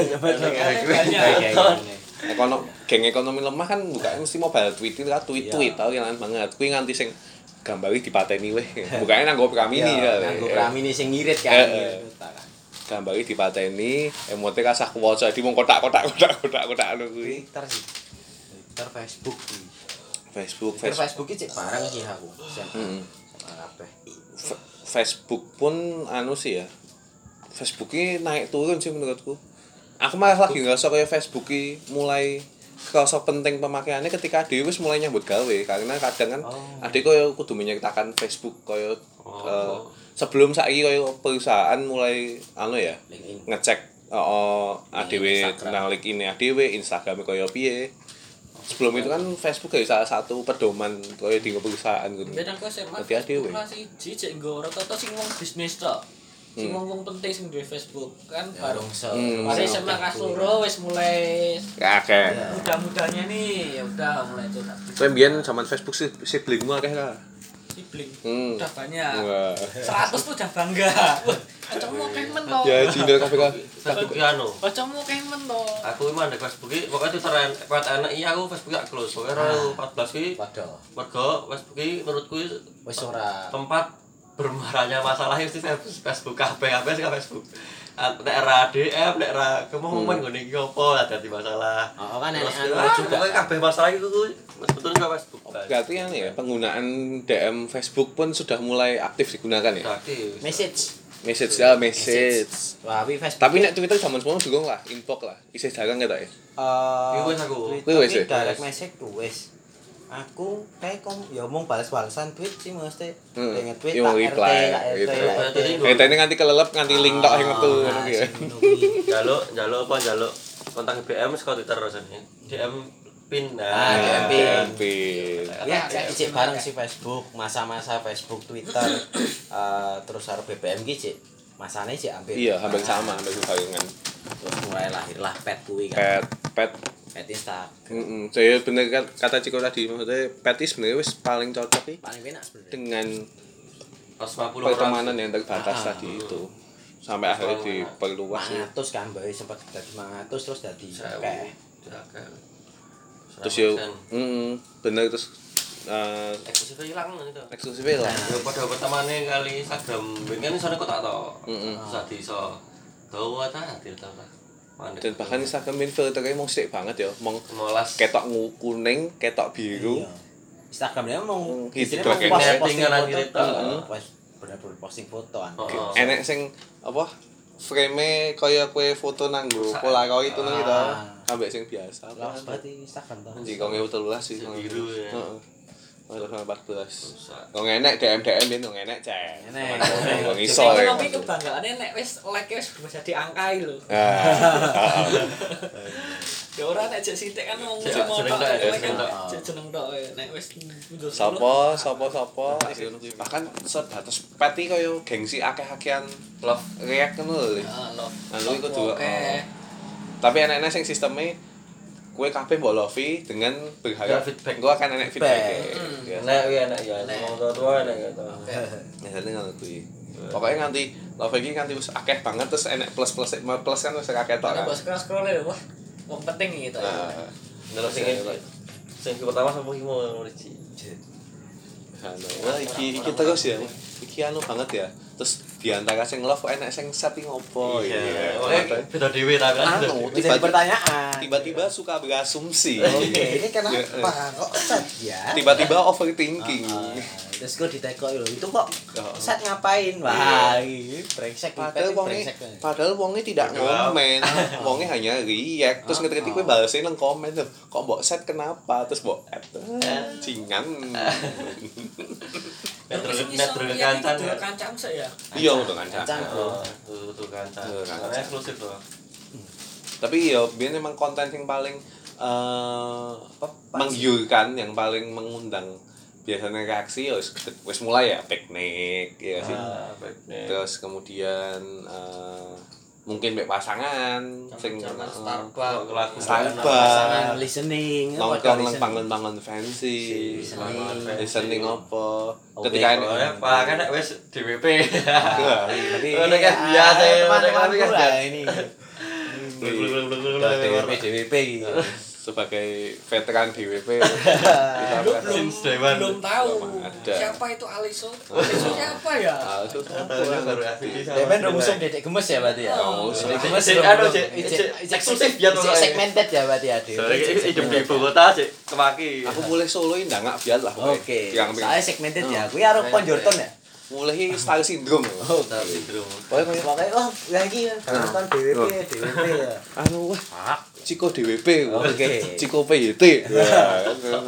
ekonomi geng ekonomi lemah kan buka mesti mobile tweet kan tweet-tweet tau yang banget. Kuwi nganti sing gambari dipateni weh. Bukane nanggo Pramini ya. Nganggo Pramini sing ngirit kan. Eh, eh. ngirit kan. Gambari dipateni, emote kasah kuwaca di mung kotak-kotak kotak-kotak kotak anu kuwi. Twitter sih. Twitter Facebook sih. Facebook, Twitter Facebook. Facebook iki cek barang sih aku. Heeh. Kabeh. Facebook pun anu sih ya. Facebook ini naik turun sih menurutku. Aku malah lagi ngerasa kayak Facebook ini mulai kerasa penting pemakaiannya ketika Ade wis mulai nyambut gawe karena kadang kan Oh. Ade koyo kudu menyertakan Facebook koyo Oh. eh, sebelum saiki koyo perusahaan mulai anu ya LinkedIn. ngecek oh A D W Instagram. tentang link ini A D W Instagram koyo piye. Sebelum itu kan Facebook kayak salah satu pedoman koyo di perusahaan gitu. Beda kok S M A. Nanti adewe. Kelas siji cek nggo rata-rata sing wong bisnis tok. Sing Hmm. wong-wong penting sing duwe Facebook kan Ya, baru dong, se- Hmm. mari S M A kelas loro wis mulai Kakek. mudah-mudahnya nih ya udah mulai itu Kowe mbiyen zaman Facebook sih siblingmu akeh ka? sibling. Hmm. Udah banyak. Wah. seratus tuh udah bangga. Wah, kancamu akeh men to. Ya jindel kabeh ka. Facebook ki anu. Kancamu akeh men to. Aku emang ada Facebook ki, pokoknya Twitter kuat anak iya aku Facebook gak close. Pokoknya dua ribu empat belas ki Padha. mergo Facebook ki menurutku Wis ora tempat bermarahnya masalah itu Facebook kabeh kabeh sing Facebook. Nek era D M, nek era kemomen ngene iki opo dadi masalah. Oh, kan Terus, enek anu ah, juga. pokoknya kabeh masalah itu tuh sebetulnya ke Facebook. Berarti kan ya penggunaan D M Facebook pun sudah mulai aktif digunakan ya. Aktif. Message. Message ya message. Wah, wi Facebook. Tapi nek Twitter zaman semono durung lah, inbox lah. Isih jarang ketok ya. eh Iku wis aku. Twitter Iku wis ki ya? direct Wis. message tuh wis. Aku kayak kom ya omong balas-balasan tweet sih mesti. Hmm. Dengan tweet Yo, tak reply, R T, tak R T, gitu. tak R T. Eh tadi nganti kelelep nganti link tok sing metu ngono Ah, ki ya. sing ngono kuwi. Jaluk, jaluk apa jaluk kontak B M saka Twitter rasane. D M pin. Ah, D M D M pin. Ya, kayak ijik bareng si Facebook, masa-masa Facebook, Twitter, eh, terus harus B B M ki cik. Masane cik hampir. Iya, hampir sama, hampir barengan. Terus mulai lahirlah pet kuwi kan. Pet pet Pet Instagram. Heeh, saya bener kan kata Ciko tadi maksudnya pet is sebenarnya wis paling cocok nih Paling enak sebenarnya. dengan seratus lima puluh pertemanan orang. yang terbatas Ah, tadi itu sampai akhirnya diperluas ya. lima ratus kan bae sempat dadi lima ratus terus dadi akeh. Terus ya heeh, bener terus eh eksklusifnya hilang gitu. eksklusif lah. Ya pada pertamane kali Instagram ben sono kok tak tau. Heeh. Terus ati iso tahu ta ati ta. Mandek. Dan bahkan Instagram min filternya mau sithik banget ya, mau molas ketok ngu- kuning, ketok biru. Iya. Instagramnya mau Hmm, isinya gitu, mau kayak post- setting posting kan foto. gitu. Heeh. Pas bener-bener posting foto kan. Oh, oh. Enek sing apa? Frame kaya kue foto nanggo Polaroid itu nang gitu. Ah. Ambek sing biasa. Lawas banget ini Instagram tuh. Anjing kok ngewu telulas sih. Sing biru ya. Heeh. dua ribu empat belas. Rusak. Kok enek D M D M ben kok enek cek. Enek. Kok iso Soalnya ya. tapi kebanggaannya nek wis like wis bisa diangkai lho. Ah. Ya ora nek jek sithik kan wong Jek cuma jeneng tok, tok, like jeneng kan tok. jek jeneng tok ya. Nek wis mundur Sopo, sopo, sopo. Bahkan sebatas peti kaya gengsi akeh-akehan Love. react ngono lho. Ah, love. Anu iku juga. Oke. Tapi enek-enek sing sistemnya kue kabeh mbok lovi dengan berharap Ya, feedback. engko akan enek feedback. Hmm. Ya. Enak ya enak ya. Wong tua-tua enak gitu. Biasanya ngono kuwi. Pokoknya nganti love iki nganti wis akeh banget terus enek plus-plus plus kan wis akeh tok Nek kan. bos scroll ya wah. Wong penting gitu. Nah, Ndelok sing sing pertama sampe iki mau nuriji. anu, wah iki iki terus ya. Iki anu banget ya. Terus diantara sing love enek sing setting opo Iya. ya. Oke, beda dhewe ta kan. Anu, Bisa jadi pertanyaan. tiba-tiba suka berasumsi. Oke, ini Ya, kenapa kok set ya? Tiba-tiba overthinking. Ah, terus gue ditekok lho, itu kok Oh. set ngapain? Wah, ini brengsek Padahal ini wonge brengsek. padahal wonge tidak Bodoh ngomen. Wonge hanya react. Terus ngetik kowe balesnya nang komen tuh. Kok mbok set kenapa? Terus mbok add. Cingan. Metro Terus metro iso kancan. lihat itu kancam saya. Iya untuk kancan. Kancan. Oh, tuh tuh kancan. Tuh, kancan. Karena eksklusif tuh. Tapi ya biyen emang konten yang paling eh apa menggiurkan, yang paling mengundang biasanya reaksi ya wis wis mulai ya piknik ya sih. Ah, baik nih. Terus kemudian eh mungkin mek pasangan sing Zaman eh, Starbucks. lagu Starbucks. Pasangan listening, nongkrong nang listening. bangun-bangun fancy, Listening. listening apa? Oke. Ketika Oh ya, Pak kan nek wis D W P. Tapi Oh, ini kan ah, biasa ya, teman-teman ini kan gue lah ini. Blek-blek-blek-blek-blek. Udah D W P D W P gitu. sebagai veteran D W P Belum belum, Since day one. belum tahu Belum ada. siapa itu Aliso. Aliso siapa ya? ah, itu Tahunya baru asli sama. Demen rumusum dedek gemes ya berarti ya. Oh, Dedek Cek- gemes cek- belum- anu, belum- cek- cek- cek- cek- eksklusif cek- ya, cek soalnya. segmented ya berarti ya. Dewe. Soalnya Cek hidup di segmented. ibu kota sih kemaki. aku boleh soloin ndak nggak biar lah pokoknya. Oke. yang Soalnya segmented ya. Kuwi arep Konjorton ya. mulai star syndrome. Oh, Star syndrome. Pokoknya kayak makanya oh lagi kan nonton D W P D W P ya. anu wah Ciko D W P. Oke. Ciko P Y T. Ya,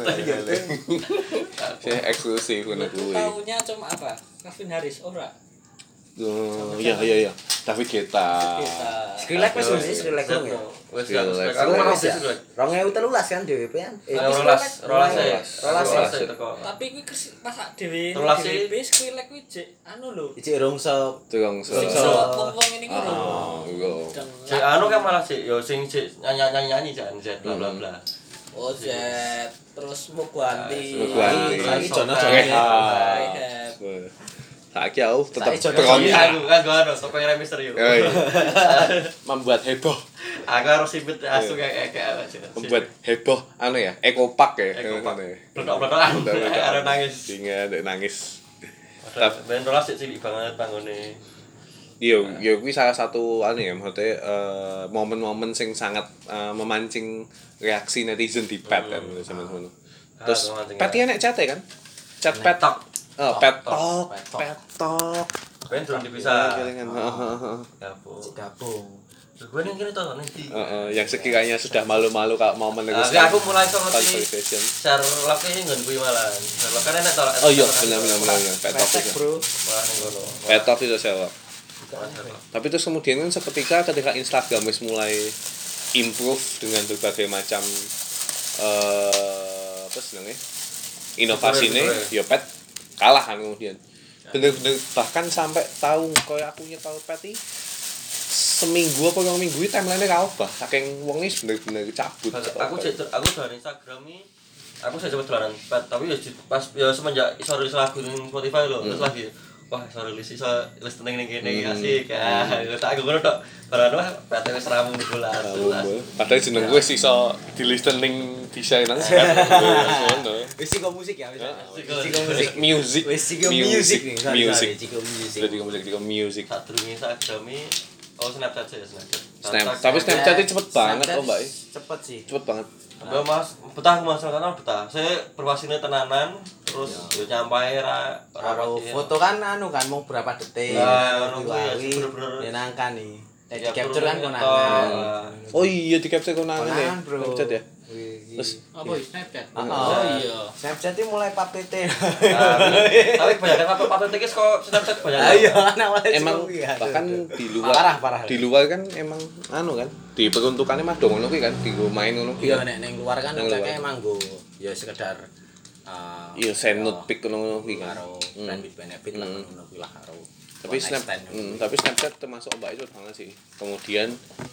saya eksklusif ngono Aku kuwi. taunya cuma apa? Calvin Harris ora. Oh, iya iya iya. David Guetta. Kita. Skrillex wis wis Skrillex dong ya. Wes Skrillex. Skrillex. Aku Aku kan mau Wis ya. Skrillex. dua ribu tiga belas kan D W P kan. Eh, Nah, rolas, rolas e. Rolas e. Rolas e teko. Tapi kuwi kes- masak dhewe. Rolas e. D W P Skrillex kuwi jek anu lho. Iki rungsok. Tukang Sing so. so wong ini ngono. Oh, iya. Sing anu kan malah sih yo sing sik nyanyi-nyanyi jan Z bla bla bla. Oh, Jet. Terus Mugwanti. Mugwanti. Saiki Jono Rehab. Rehab. Saiki aku tetap Saiki Jono berontak. Iya, aku kan gua anu topeng Rey Mysterio. Oh, iya. Membuat heboh, Aku harus sibet asu kayak kayak aja. membuat heboh anu ya, ekopak ya. Ekopak. Ngono ya. Blodok-blodokan. Arep nangis. Ingat dek nangis. Ben rolas sik cilik banget tanggone. Iya, ya kuwi salah satu anu ya, maksudnya eh, momen-momen sing sangat eh, memancing reaksi netizen di pet kan sama-sama. Terus Ah, memancing pet ya nek chat kan? Chat pet. Tok. Oh, pet Tok. talk, Pet talk. pet talk. Ben durung dipisah. Kelingan. Heeh, heeh. Gabung. Gabung. Gue nih kini tau nanti. Heeh, yang sekiranya sudah malu-malu kalau mau Tapi meneruskan aku mulai sama ngerti conversation. Sherlock ini nggak gue malah. Sherlock kan enak tau. Oh iya, benar-benar benar yang pet talk Pesek, itu. Bro. Malah nih gue loh. Pet talk itu saya. Sherlock. Tapi terus kemudian kan seketika ketika Instagram wis mulai improve dengan berbagai macam eh apa senengnya inovasi nih, Betul, ya pet kalah kan kemudian. Bener-bener bahkan sampai tahu koyo aku nyetel pet iki seminggu apa rong minggu iki timeline-e ra obah saking wong iki bener-bener cabut. Aku cek aku dari Instagram ini aku saya coba dolanan pet tapi ya di- pas ya semenjak iso rilis lagu ning Spotify lho terus lagi wah iso rilis iso listening ning kene Hmm. asik ah tak aku ngono tok barang wah pet wis ramu bola Padahal jeneng gue sih iso di listening desain nang ngono. Wis sing musik ya, wis. Heeh. Wis sing musik. Music. Wis sing music nih. sorry, Music. sorry, Ciko music. Berarti musik di music. tak durunge Instagram ini oh Snapchat sih Snapchat Snap. Tapi Snapchat itu cepet banget Snapchat oh, Mbak. Cepet sih. Cepet banget. Mbak Mas, betah Mas tenan betah. Saya berwasine tenanan terus yo nyampai ra Karo pasti. foto kan anu kan mau berapa detik. Nah, nanti ngono kuwi ya, wawi, bener-bener. menyenangkan nih. Eh, Ya, di capture kan bener-bener konangan. nyetok. Oh iya di capture konangan ya. Konangan, Bro. Snapchat ya. Wih, Terus Apa ya? Snapchat? Oh, Oh iya. Snapchat itu mulai P P T. Tapi tapi kebanyakan apa apa tekis kok Snapchat banyak. Ayo, anak mulai emang Ciko, iya. bahkan di luar parah parah. di luar kan emang anu kan diperuntukannya mah dong ngono kuwi kan digo main ngono kuwi Iya kan. nek ning luar kan Neng ngeceknya luar. emang go ya sekedar uh, Iya send note pic ngono kuwi kan. karo Hmm. friend with benefit lah Hmm. ngono kuwi lah karo Tapi one snap night stand. hmm, tapi Snapchat termasuk Mbak itu banget sih. Kemudian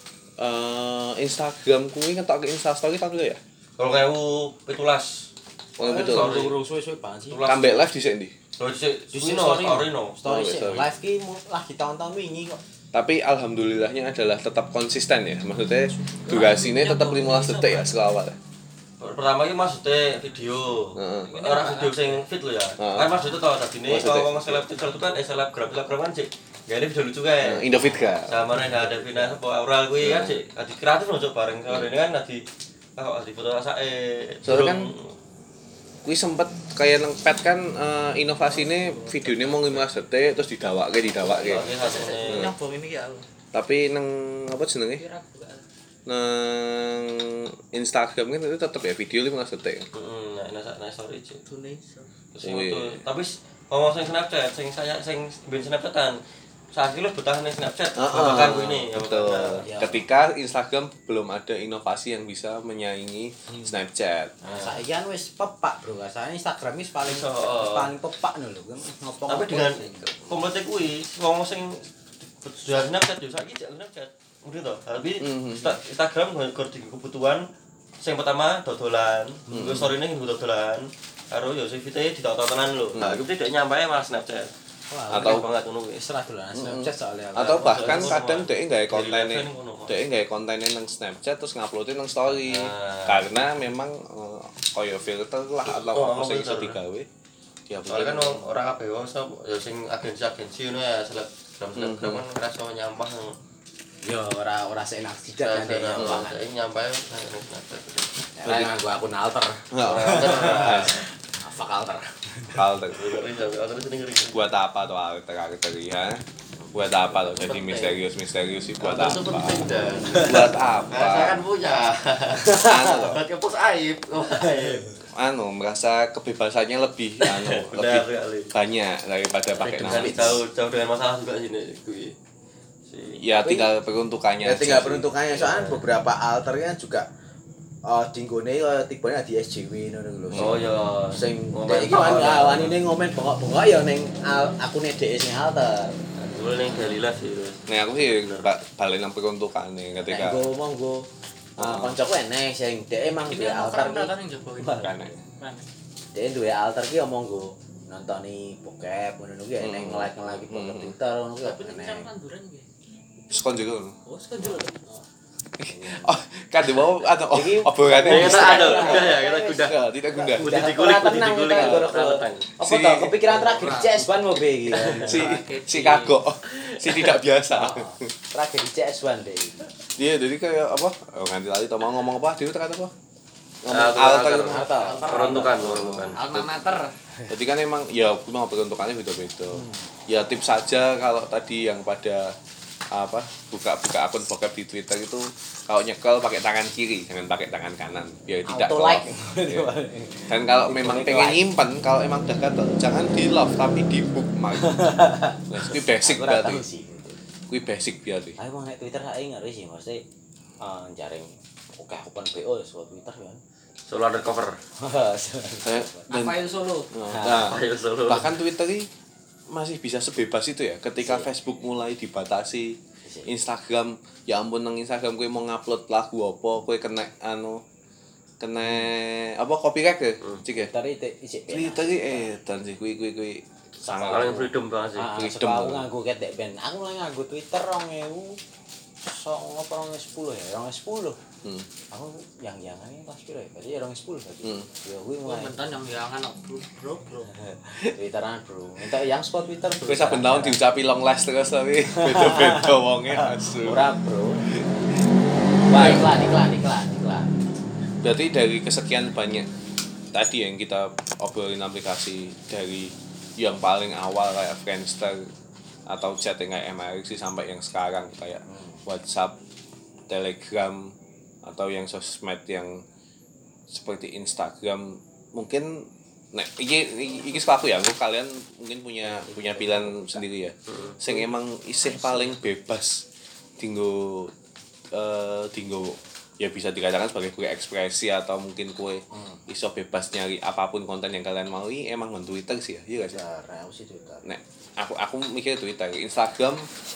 eh Instagram kuwi ngetok ke Insta story tapi ya. Kalau kayak pitulas. Oh gitu. Story. Urung suwe-suwe banget sih. Tulas. Kambek live dhisik ndi? Terus sih Di di story story no. Story Oh, sih story. live ki mu- lagi tahun-tahun wingi kok. Tapi alhamdulillahnya adalah tetap konsisten ya. Maksudnya durasinya tetap lima belas detik ya sekawal. Pertama iki maksudnya video. Heeh. Ora video sing fit lho ya. Heeh. Kan maksudnya tau tadine Maksudnya? kalau ngomong seleb seleb itu kan eh selebgram selebgram kan sih. Ya ini video lucu kayak. Indofit ga? Sama nih ada Vina apa Aura kuwi kan sih adi kreatif loh coba bareng sore ini kan adi kok adi foto rasa eh Soalnya kan kuwi sempet kayak nang pet kan eh, inovasine videonya mau lima belas detik terus didawakke didawakke. Oke, satu nih. Nyoba ini ya. Tapi nang apa jenenge? Kira bukan. Nang Instagram kan itu tetap ya video lima belas detik. Heeh, nah nah nah story sih. Indonesia. Terus Wih. itu tapi s- ngomong sing Snapchat, sing saya sing ben Snapchatan. Saat ini bertahan ning Snapchat, bahkan gue ini ya betul. betul. Ya. Ketika Instagram belum ada inovasi yang bisa menyaingi Snapchat. Nah, saiki kan wis pepak, Bro. Rasane Instagram wis paling Iso, wis paling pepak lho kan ngopo. Tapi dengan komplete kuwi ngomong sing dari Snapchat yo saiki jak Snapchat. Udah toh. Tapi Mhm. Insta- Instagram nggur di kebutuhan sing pertama dodolan, terus story-ne nggo dodolan. Karo yo sing fite ditok-tok tenan lho. Nah, iki tidak nyampe malah Snapchat. Atau- Atau banget ngono kuwi. wis ra dolan Snapchat soalnya. Atau bahkan Soalnya kadang ngono, dhek gawe Daily kontennya Life ngono kok. dhek gawe kontennya nang Snapchat terus nguploadin nang story. Nah. Karena memang eh, koyo filter lah atau Oh, apa sing iso filter. digawe. Ya Soalnya kan wong ora kabeh wong sop ya sing agensi-agensi ngono ya selebgram selebgram kan ngerasa nyampah. Yo ora ora seenak sidak kan Saya dek. nyampah, saya nyampah nang Snapchat. Ora nganggo akun alter. Heeh. Fuck alter. alter. Ngeri sampe alter sini ngeri. Buat apa tuh alter alter ya? Buat apa tuh jadi misterius misterius sih buat Alter itu apa? penting dan. Buat Nah, saya kan apa? punya. Anu loh, Buat kepus aib. Oh, aib. anu merasa kebebasannya lebih anu Benar lebih sekali. banyak daripada pakai Dengan nama. jauh jauh dengan masalah juga sini gue. Si Ya Tapi- tinggal peruntukannya. Ya aja tinggal sih. peruntukannya soalnya beberapa alternya juga uh, dinggone uh, tipenya di S J W ngono lho. Oh ya, Sing ngomen dek iki wani tok. ah, wanine ngomen bengok-bengok ya ning al- akune dhek sing alter. Dulu ning Galila sih terus. Nah aku sih ba- balik nang peruntukannya Nek ketika nggo monggo uh, kancaku enek sing dhek emang Ini duwe mau alter keren ki. kan yang Joko ini. kan Kan. Dhek duwe alter ki ya monggo nontoni bokep ngono kuwi enek Hmm. nge-like-nge-like bokep Hmm. Twitter ngono kuwi Tapi ini enek. kan tanduran gitu. sekon juga. Oh, sekarang Oh, kan di bawah atau oh, Iki- obrolannya Ya, kita bisa. ada, udah ya, kita udah. Ya, tidak gunda. Udah dikulik, Ora udah tenang dikulik. kita, Ora Goro. tenang. Apa Si- toh kepikiran terakhir C S satu mau be iki. Si si kagok, si tidak biasa. Tragedi C S satu deh. Dia jadi kayak apa? Oh, nganti lali tau mau ngomong apa? Dia kata apa? Ngomong Ah, alter. alter. Alter. Peruntukan, peruntukan. alma mater. Jadi kan emang ya memang peruntukannya beda-beda. Ya tips saja kalau tadi yang pada apa buka-buka akun bokep di Twitter itu kalau nyekel pakai tangan kiri jangan pakai tangan kanan biar tidak Auto ke like. love. Ya. Dan kalau memang pengen nyimpen kalau emang udah gatel jangan di love tapi di bookmark. Nah, itu basic Aku ora berarti. tahu sih. Kuwi basic berarti. Aku mau nek Twitter ae ngeri sih mesti eh jaring oke open B O so Twitter kan. Solo undercover. Eh, dan Rafael Solo. nah, Ayo solo. bahkan Twitter ini masih bisa sebebas itu ya ketika Si. Facebook mulai dibatasi Si. Instagram ya ampun nang Instagram kowe mau ngupload lagu apa kowe kena anu kena apa copyright ya cik ya Twitter itu isik. Twitter iki eh dan sih kuwi kuwi kuwi sangat Paling freedom banget sih. Ah, freedom. sebab aku nganggo ketek ben. Aku mulai nganggo Twitter dua ribu songo apa dua ribu sepuluh ya, dua ribu sepuluh. hmm. Aku yang yangannya pas piro ya? Berarti ya dua ribu sepuluh berarti. Hmm. Ya kuwi Oh, mulai bentar yang jangan bro bro bro. Twitteran, Bro. Minta yang spot Twitter. Bro. kowe saben tahun diucapi long last terus tapi beda-beda wonge asu Ora, Bro. Wah, iklan, iklan, iklan, iklan. berarti dari kesekian banyak tadi yang kita obrolin aplikasi dari yang paling awal kayak Friendster atau chatting kayak M R X sampai yang sekarang kayak WhatsApp, Telegram atau yang sosmed yang seperti Instagram mungkin nah iki iki, iki aku ya aku kalian mungkin punya punya pilihan sendiri ya sing emang isih paling bebas tinggo eh tinggo ya bisa dikatakan sebagai kue ekspresi atau mungkin kue iso bebas nyari apapun konten yang kalian mau emang men Twitter sih ya iya gak sih Twitter, aku sih Twitter. nek aku aku mikir Twitter Instagram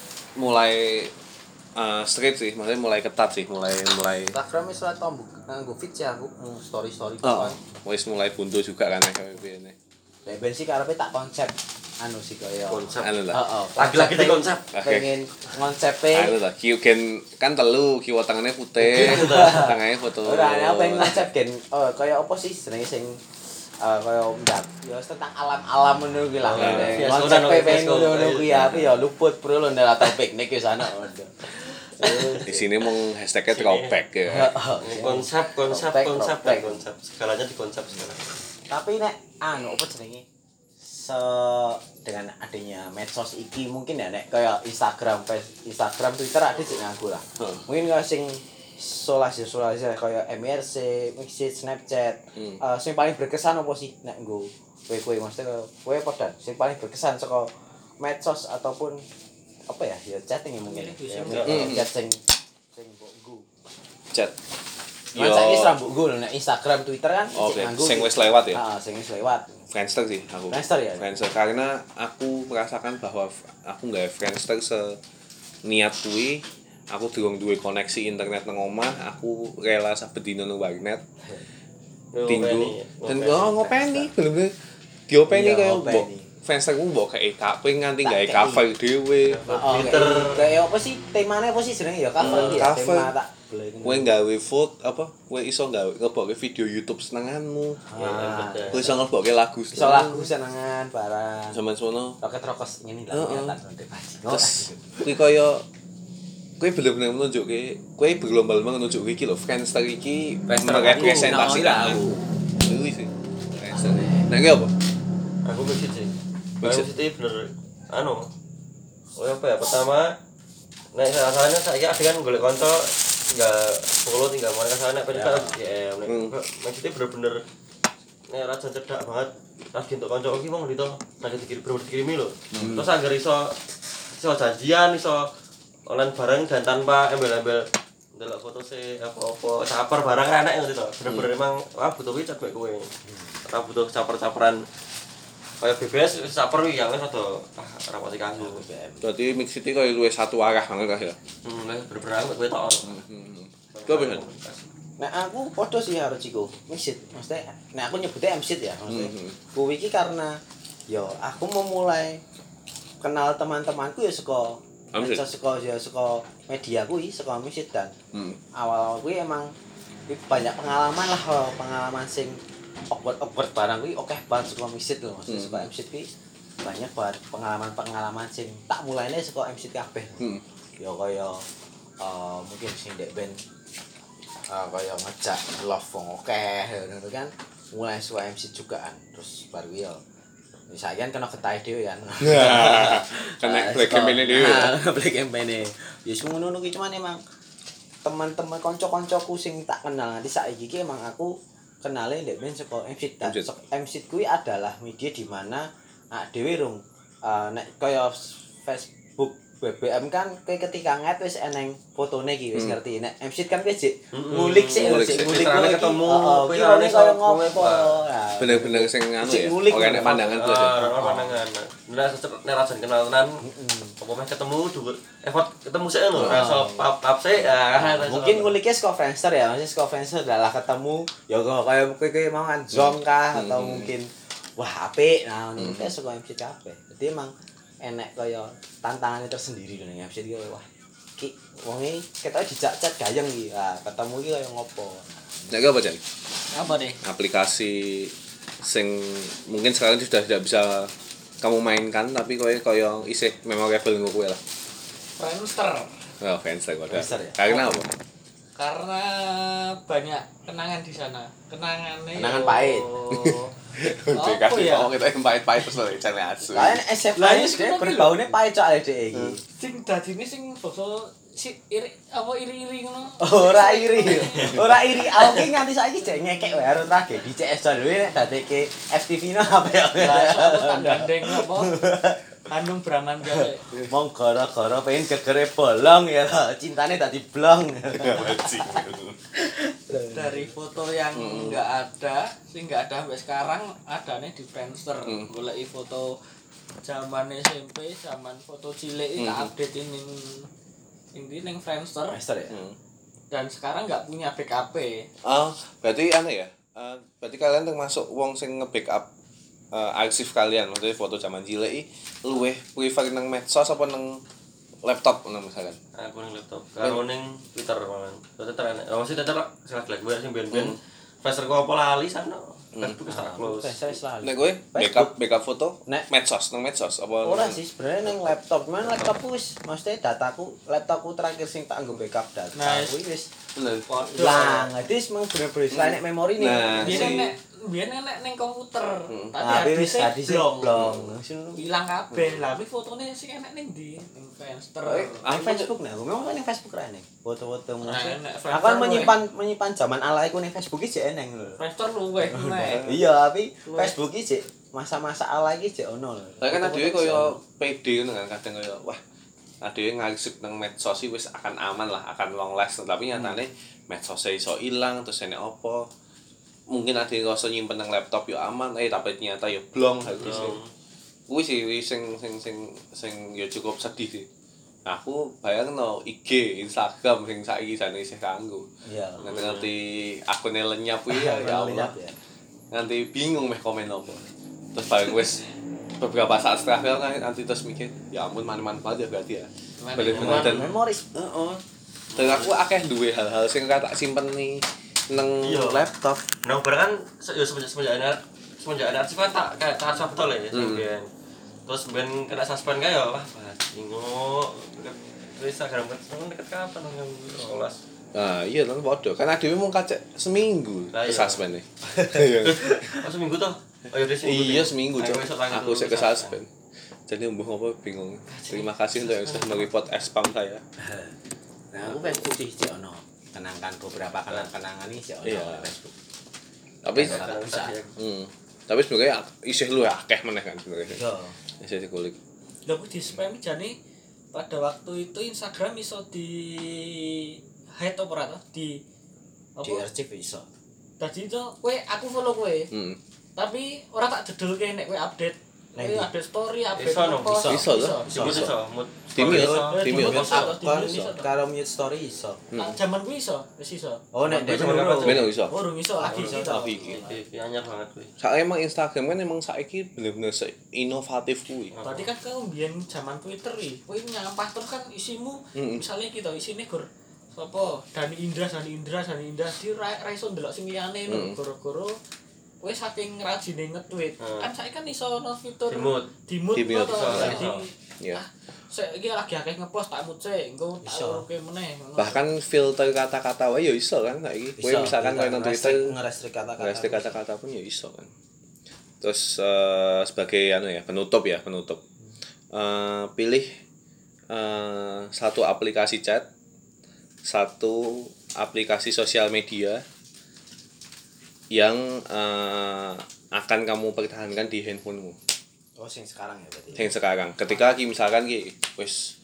mulai eh straight sih maksudnya mulai ketat sih mulai mulai Instagram wis ora tombok nganggo feed sih aku, story story oh, kan. wis mulai buntu juga kan kayak gini Nek ben sih karepe tak konsep anu sih kaya Konsep. anu lah Heeh. Lagi-lagi di konsep. Pengen konsepe anu lah kiu gen kan telu kiwa tangannya putih tangannya foto ora nek pengen konsep gen oh kaya apa sih jenenge sing eh kaya ndak ya wis tentang alam-alam ngono kuwi lah. Oh, iya. Konsep Fiasco, pengen Fiasco. ngono kuwi apa ya luput bro lho ndak atau piknik wis ana. di sini mau hashtagnya throwback ya Konsep, konsep, Throwback, konsep, dan throwback. konsep. Segalanya di konsep sekarang. Tapi nek anu apa jenenge se dengan adanya medsos iki mungkin ya nek kaya Instagram, Face, Instagram, Twitter ada sih nganggo lah. Hmm. Mungkin kaya sing solasi solasi kaya M R C, Mixit, Snapchat. Hmm. Eh, sing paling berkesan apa sih nek nggo kowe-kowe mesti kowe podan sing paling berkesan saka medsos ataupun apa ya ya chatting ya mungkin. Ya, Hmm. chat sing sing mbok nggo. chat Cuman saiki ora mbok nggo lho nek Instagram, Twitter kan oke sing nganggo. sing wis lewat ya Heeh, sing wis lewat. Friendster sih aku Friendster ya? Friendster karena aku merasakan bahwa f- aku nggak Friendster se niat kuwi aku durung duwe koneksi internet nang omah aku rela saben dino nang warnet tinggu dan oh ngopeni bener-bener diopeni Iya, kaya ngopeni. mbok Friendster ku mbok kayak kape nganti Tak gawe kei. cover dhewe Oh, Twitter. kayak- kayak apa sih temanya apa sih jenenge ya cover Hmm, ya cover. tema tak boleh kowe nggawe foto apa kowe iso nggawe ngebokke video YouTube senenganmu Ah, kowe iso ngebokke lagu iso lagu senengan barang zaman sono roket rokos ini lah Heeh. tak ndek paji terus kuwi kaya kowe bener-bener menunjukke kowe berlomba-lomba menunjukke iki lho Friendster iki Friendster merepresentasikan aku, aku kuwi sih Friendster nah iki apa Aku mixit sih. Mixit. Mixit itu bener anu. Oh apa ya? Pertama nek rasanya saiki ada kan golek kanca tinggal sepuluh tinggal mau ke sana pen kan ya nek mixit bener-bener nek raja cedak banget. Lagi untuk kanca iki wong ndito lagi dikirim bener dikirimi lho. Terus agar iso iso janjian iso online bareng dan tanpa embel-embel ndelok foto se apa-apa caper barang enak ngono to. Bener-bener emang ah butuh iki cek kowe. Ora butuh caper-caperan kayak B B S caper iki yang rada ah ora pati kanggo. Berarti mix itu kayak luwih satu arah banget kah ya. Hmm, bener-bener aku kowe tok. Kau bisa. Nek aku podo sih harus iku. Mixit. Maksudnya nek aku nyebutnya M-sit ya, maksudnya. Hmm. Kuwi iki karena yo aku memulai kenal teman-temanku ya saka M-sit. saka ya saka media kuwi, saka M-sit dan Hmm. awal-awal kuwi emang kuwi banyak pengalaman lah, oh, pengalaman sing awkward-awkward barang kuwi akeh banget saka M-sit lho, maksudnya Hmm. saka M-sit kuwi banyak banget pengalaman-pengalaman sing tak mulainya saka M-sit kabeh. Hmm. Ya kaya eh, mungkin sing ndek band uh, kaya ngejak love wong akeh ngono kan mulai suka M C juga kan terus baru ya misalkan kena getah dhewe kan Kena black campaign dhewe ya. black campaign ya wis ngono ki cuman emang teman-teman kanca-kancaku sing tak kenal nanti saiki ki emang aku kenale ndek band saka M C dan M C kuwi adalah media di mana ak dhewe rung uh, nek kaya Facebook B B M kan kayak ketika nget wis eneng fotone iki wis ngerti nek M C kan wis ngulik sik Ngulik sik sik. ngulik Pirane iki. ketemu, Heeh, pirane pirane kaya kok ngopo. ngopo. Nah, Bener-bener sing anu Sing ya. ngulik Oke nek ngono. pandangan tuh. Ah, ora pandangan. Nek nek rajan kenal tenan apa meh ketemu dhuwur effort ketemu sik lho, rasa pap-pap sik. Ah, mungkin nguliknya saka Friendster ya, maksudnya saka Friendster adalah ketemu ya kaya kowe mau kan zong kah atau mungkin wah apik nah ngono kayak saka M C kabeh. Dadi emang enek kaya tantangannya tersendiri lho ning M C iki wah ki wonge ketoke dijak chat gayeng iki. Ah, ketemu iki kaya ngopo. Nek apa Jan? Apa deh? Aplikasi sing mungkin sekarang sudah tidak bisa kamu mainkan tapi kowe kaya isih memorable nggo kowe lah. Friendster. Oh, Friendster kok. Friendster ya? Karena apa? Karena banyak kenangan di sana. Kenangannya Kenangan yo- pahit. Apa ya? Oh, kita yang pahit-pahit terus lho jane asu. Lah nek S M Lah, A iya, iki sebenarnya berbaune pahit cok dhek iki. Sing dadine sing basa si iri apa iri-iri ngono. Ora iri. Ora iri. Aku ki nganti saiki jek ngekek wae karo tragedi C S dhewe nek dadekke F T V no apa ya. Lah soalnya tak gandeng apa? Handung Braman gawe. Mong gara-gara pengen gegere bolong ya lah. Cintane dadi blong. Dari foto yang enggak ada, sing enggak ada sampai sekarang adanya di Friendster. Hmm. Goleki foto zaman S M P, zaman foto cilik tak update ini ini ning Friendster Master ya. dan sekarang nggak punya backup. Oh, berarti anu ya. Eh, berarti kalian termasuk wong sing nge-backup eh, arsip kalian, maksudnya foto zaman cilik iki luwih prefer nang medsos apa nang laptop ngono misalkan. aku ning laptop karo ning Twitter malah. Twitter enak. Oh, masih Twitter salah lagi gue sing ben-ben. Faster kok apa lali sana. Facebook wis tak close. Saya selalu. Nek kowe backup backup foto Nek- medsos nang medsos apa? Ora sih sebenarnya nang laptop, cuman laptopku wis maksudnya dataku, laptopku terakhir sing tak nggo backup data. Nah, Kuwi wis Bener. lah, jadi emang bener-bener selain nek memori nih. Nah, Biyen si- nek biyen nek ning komputer, Nah, tadi wis tadi sih blong. blong. Hilang kabeh. Lah kuwi fotone sing enek ning ndi? Ning Friendster. Nang Facebook nih, aku memang kan nang Facebook ra nih. Foto-foto Nah, maksudnya. nek Aku Friendster kan luwih. menyimpan menyimpan zaman alaiku ning Facebook iki jek eneng lho. Friendster luweh nek. Iya, tapi Luwih. Facebook iki jek masa-masa ala iki jek ono lho. Saya kan Foto-foto adewe jek kaya ono. pede ngono kan kadang kaya wah adewe ngarsip nang medsos iki wis akan aman lah, akan long last tapi nyatane medsos iso ilang terus enek apa. Mungkin adewe rasa nyimpen nang laptop yo aman, eh tapi ternyata yo blong habis. Kuwi sih sing sing sing sing yo cukup sedih sih. Aku bayangno I G, Instagram sing saiki jane isih kanggo. Iya. Ngerti akune lenyap kuwi ya ya Allah. Ya. Nanti bingung meh komen apa terus bareng wis beberapa saat setelah kan nanti terus mikir ya ampun manfaat ya berarti ya bener-bener dan Memoris. heeh dan aku akeh duwe hal-hal sing tak simpen nih nang Iya. laptop Nah, barang kan se- ya semenjak semenjak anak semenjak anak sih kan tak kayak tak suap betul ya. Sampeyan. Terus ben kena suspend kae ya wah bingung. Terus Instagram kan deket kapan nang sekolah. nah iya nang padha kan adewe mung kacek seminggu Lah, iya. suspend nih Pas seminggu tuh. Oh ya seminggu. Iya seminggu cok. Aku esok tanggal Aku sih dulu kesuspend. Jadi umbuh apa bingung. Terima kasih untuk yang sudah mereport spam saya. Nah, aku Facebook sih sih ono. Kenangkan beberapa kenang-kenangan ini sih ono Iya. di Facebook. Tapi Kalau bisa. hmm, tapi sebenarnya isih lu akeh meneh kan sebenarnya. Yo. Isih dikulik. Lha kuwi di spam jane pada waktu itu Instagram iso di hide apa ora di apa? Di archive iso. Tadi itu kowe aku follow kowe. Hmm. Tapi ora tak jedulke nek kowe update. Nah, Kowe iya. update story, update Iso, no? post. Iso, loh. Iso. Iso iso. Mut. Timnya, Iso. timnya. Timnya. Aku kon Iso. karo mute story iso. Ah, Zaman kuwi iso, wis iso. Oh nek Iso, dek iso. Ben iso. Oh, urung iso lagi iso. Lagi iki. Iki anyar banget kuwi. Soalnya emang Instagram kan emang saiki bener-bener se- inovatif kuwi. Berarti kan kau biyen zaman Twitter iki, kowe nyampah terus kan isimu Mm-mm. misalnya kita isine gur sapa Dani Indra, Dani Indra, Dani Indra di ra ra iso ndelok sing liyane lho, Mm. goro-goro kowe saking rajine nge-tweet. Hmm. Kan saiki kan iso ono fitur Dimut. dimut Dimut. to. Iso, Jadi iso. Iya. ah, sik iki lagi akeh ngepost tak mut sik, engko tak Iso. uruke meneh. ngono. Bahkan filter kata-kata wae ya iso kan saiki. Kowe Iso. misalkan Iya, kowe nang ngerestrik- Twitter ngerestrik kata-kata. ngerestrik kata-kata pun ya iso kan. Terus eh, sebagai anu ya, penutup ya, penutup. Eh, pilih eh, satu aplikasi chat, satu aplikasi sosial media yang eh, akan kamu pertahankan di handphonemu. Oh sing sekarang ya berarti. Yang sekarang ketika ki misalkan ki wis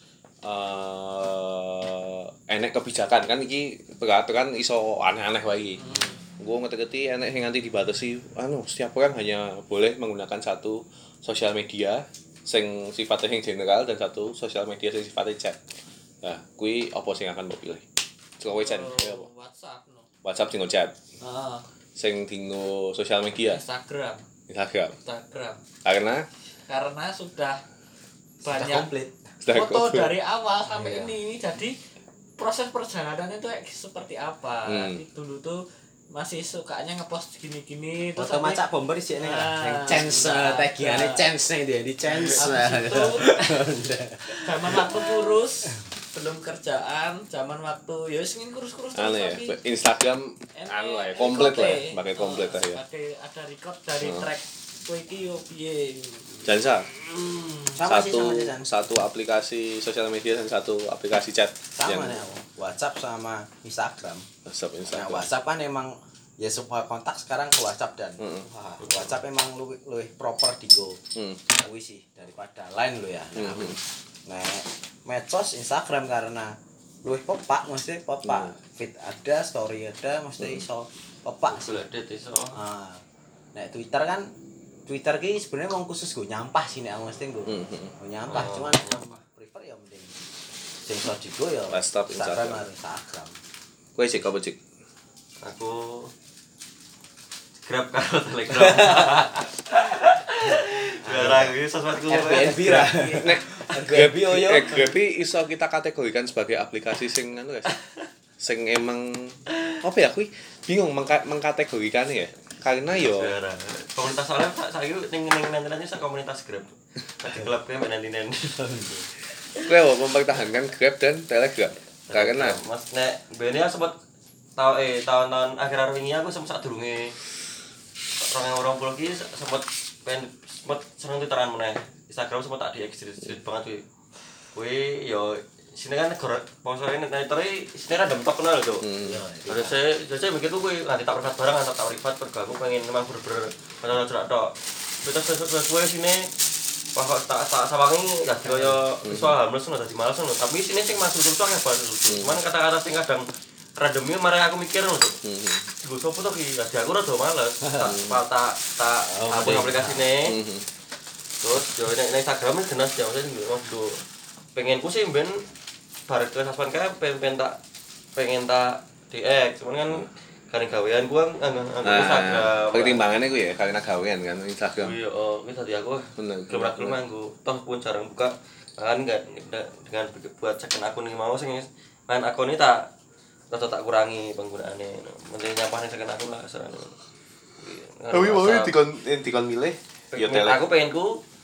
eh enek kebijakan kan iki peraturan iso aneh-aneh wae. Gue ngerti-ngerti enek sing nganti dibatasi anu setiap orang hanya boleh menggunakan satu sosial media sing sifatnya yang general dan satu sosial media sing sifatnya chat. Nah, kuwi apa sing akan mbok pilih? Coba chat Oh, ya apa? WhatsApp no. WhatsApp sing chat, Heeh. sing dinggo sosial media, Instagram, Instagram. Instagram. Karena Karena sudah Sudah banyak komplit. sudah foto komplit. dari awal sampai Iya. ini, ini jadi proses perjalanannya itu kayak seperti apa. Hmm. Jadi dulu tuh masih sukanya ngepost gini-gini Foto sampai- macak bomber sih ini lah. Ah, Yang chance nah, tagiane nah. chance nih dia di chance. Habis itu zaman waktu kurus belum kerjaan, zaman waktu ya wis ingin kurus-kurus anu ya, tapi Instagram enek anu lah ya, komplit lah ya, record-e. pakai komplit lah ya. Pakai ada record dari Hmm. track kowe iki yo piye. Jansa, Hmm. Sama sih satu sama sih San. satu aplikasi sosial media dan satu aplikasi chat. Sama nih aku. WhatsApp sama Instagram. WhatsApp, Nah, Instagram. WhatsApp kan emang ya semua kontak sekarang ke WhatsApp dan Mm-mm. wah, WhatsApp emang lu luwih proper digo. Hmm. Kuwi sih daripada lain lo ya. Nah, Mhm. nah, medsos Instagram karena luwih pepak mesti pepak. Hmm. Feed ada, story ada, mesti iso pepak sih. Golek det iso. Ah. Nah, Twitter kan Twitter ki sebenarnya mau khusus gue nyampah sih nek aku mesti gue. Mhm. Gue nyampah Oh, cuman nyampah. prefer ya mending sing iso digo ya WhatsApp, Instagram Instagram. atau Instagram. Kowe cek apa cek? Aku Grab karo Telegram. Barang iki sesuatu Airbnb ra. Nek Grab yo yo. eh, Grab iso kita kategorikan sebagai aplikasi sing anu guys. Sing emang apa ya kuwi bingung mengka- mengkategorikannya ya. Karena yo Barang. Komunitas soalnya saiki ning ning nanti sak komunitas Grab. Di klub kayak nanti-nanti. kowe apa mempertahankan Grab dan Telegram. Karena Mas nek bene sempat tau eh tahun-tahun akhir-akhir ini aku sempat sadurunge orang yang orang pulau ki sempat pengen sempat seneng twitteran meneh. Instagram sempat tak diekstrit banget kuwi. Kuwi yo sini kan negara pongsore nek Twitter sini random talk kenal lho. hmm, Terus saya, terus saya mikir tuh gue nanti tak privat barang, tak tak privat pergi aku pengen memang bener-bener macam cerak tok. Terus terus terus gue sini, wah kok tak tak sawangi ya kaya visual harmless nggak tadi malas nggak. Tapi sini sing masuk terus kayak bahasa lucu. Cuman kata-kata sing kadang randomnya marah aku mikir nggak tuh. hmm, Gue sopo tuh ki, ya aku rada males. Tak tak tak tak aku aplikasi nih. hmm, Terus yo nek Instagram ini jelas ya maksudnya waktu pengenku sih ben bar ke saswan kae pengen tak pengen tak di-X cuman kan karena gawean gua anggo anggo Nah, Instagram. pertimbangannya gue ya karena gawean kan Instagram. Iya, oh, ini tadi aku Bener. kelem-kelem anggo toh pun jarang buka kan enggak dengan buat second akun iki mau sing main akun ini tak rada tak kurangi penggunaannya. Mending nyampah ning second akun lah serane. Tapi mau dikon dikon milih ya Tele. Telegram. Aku pengenku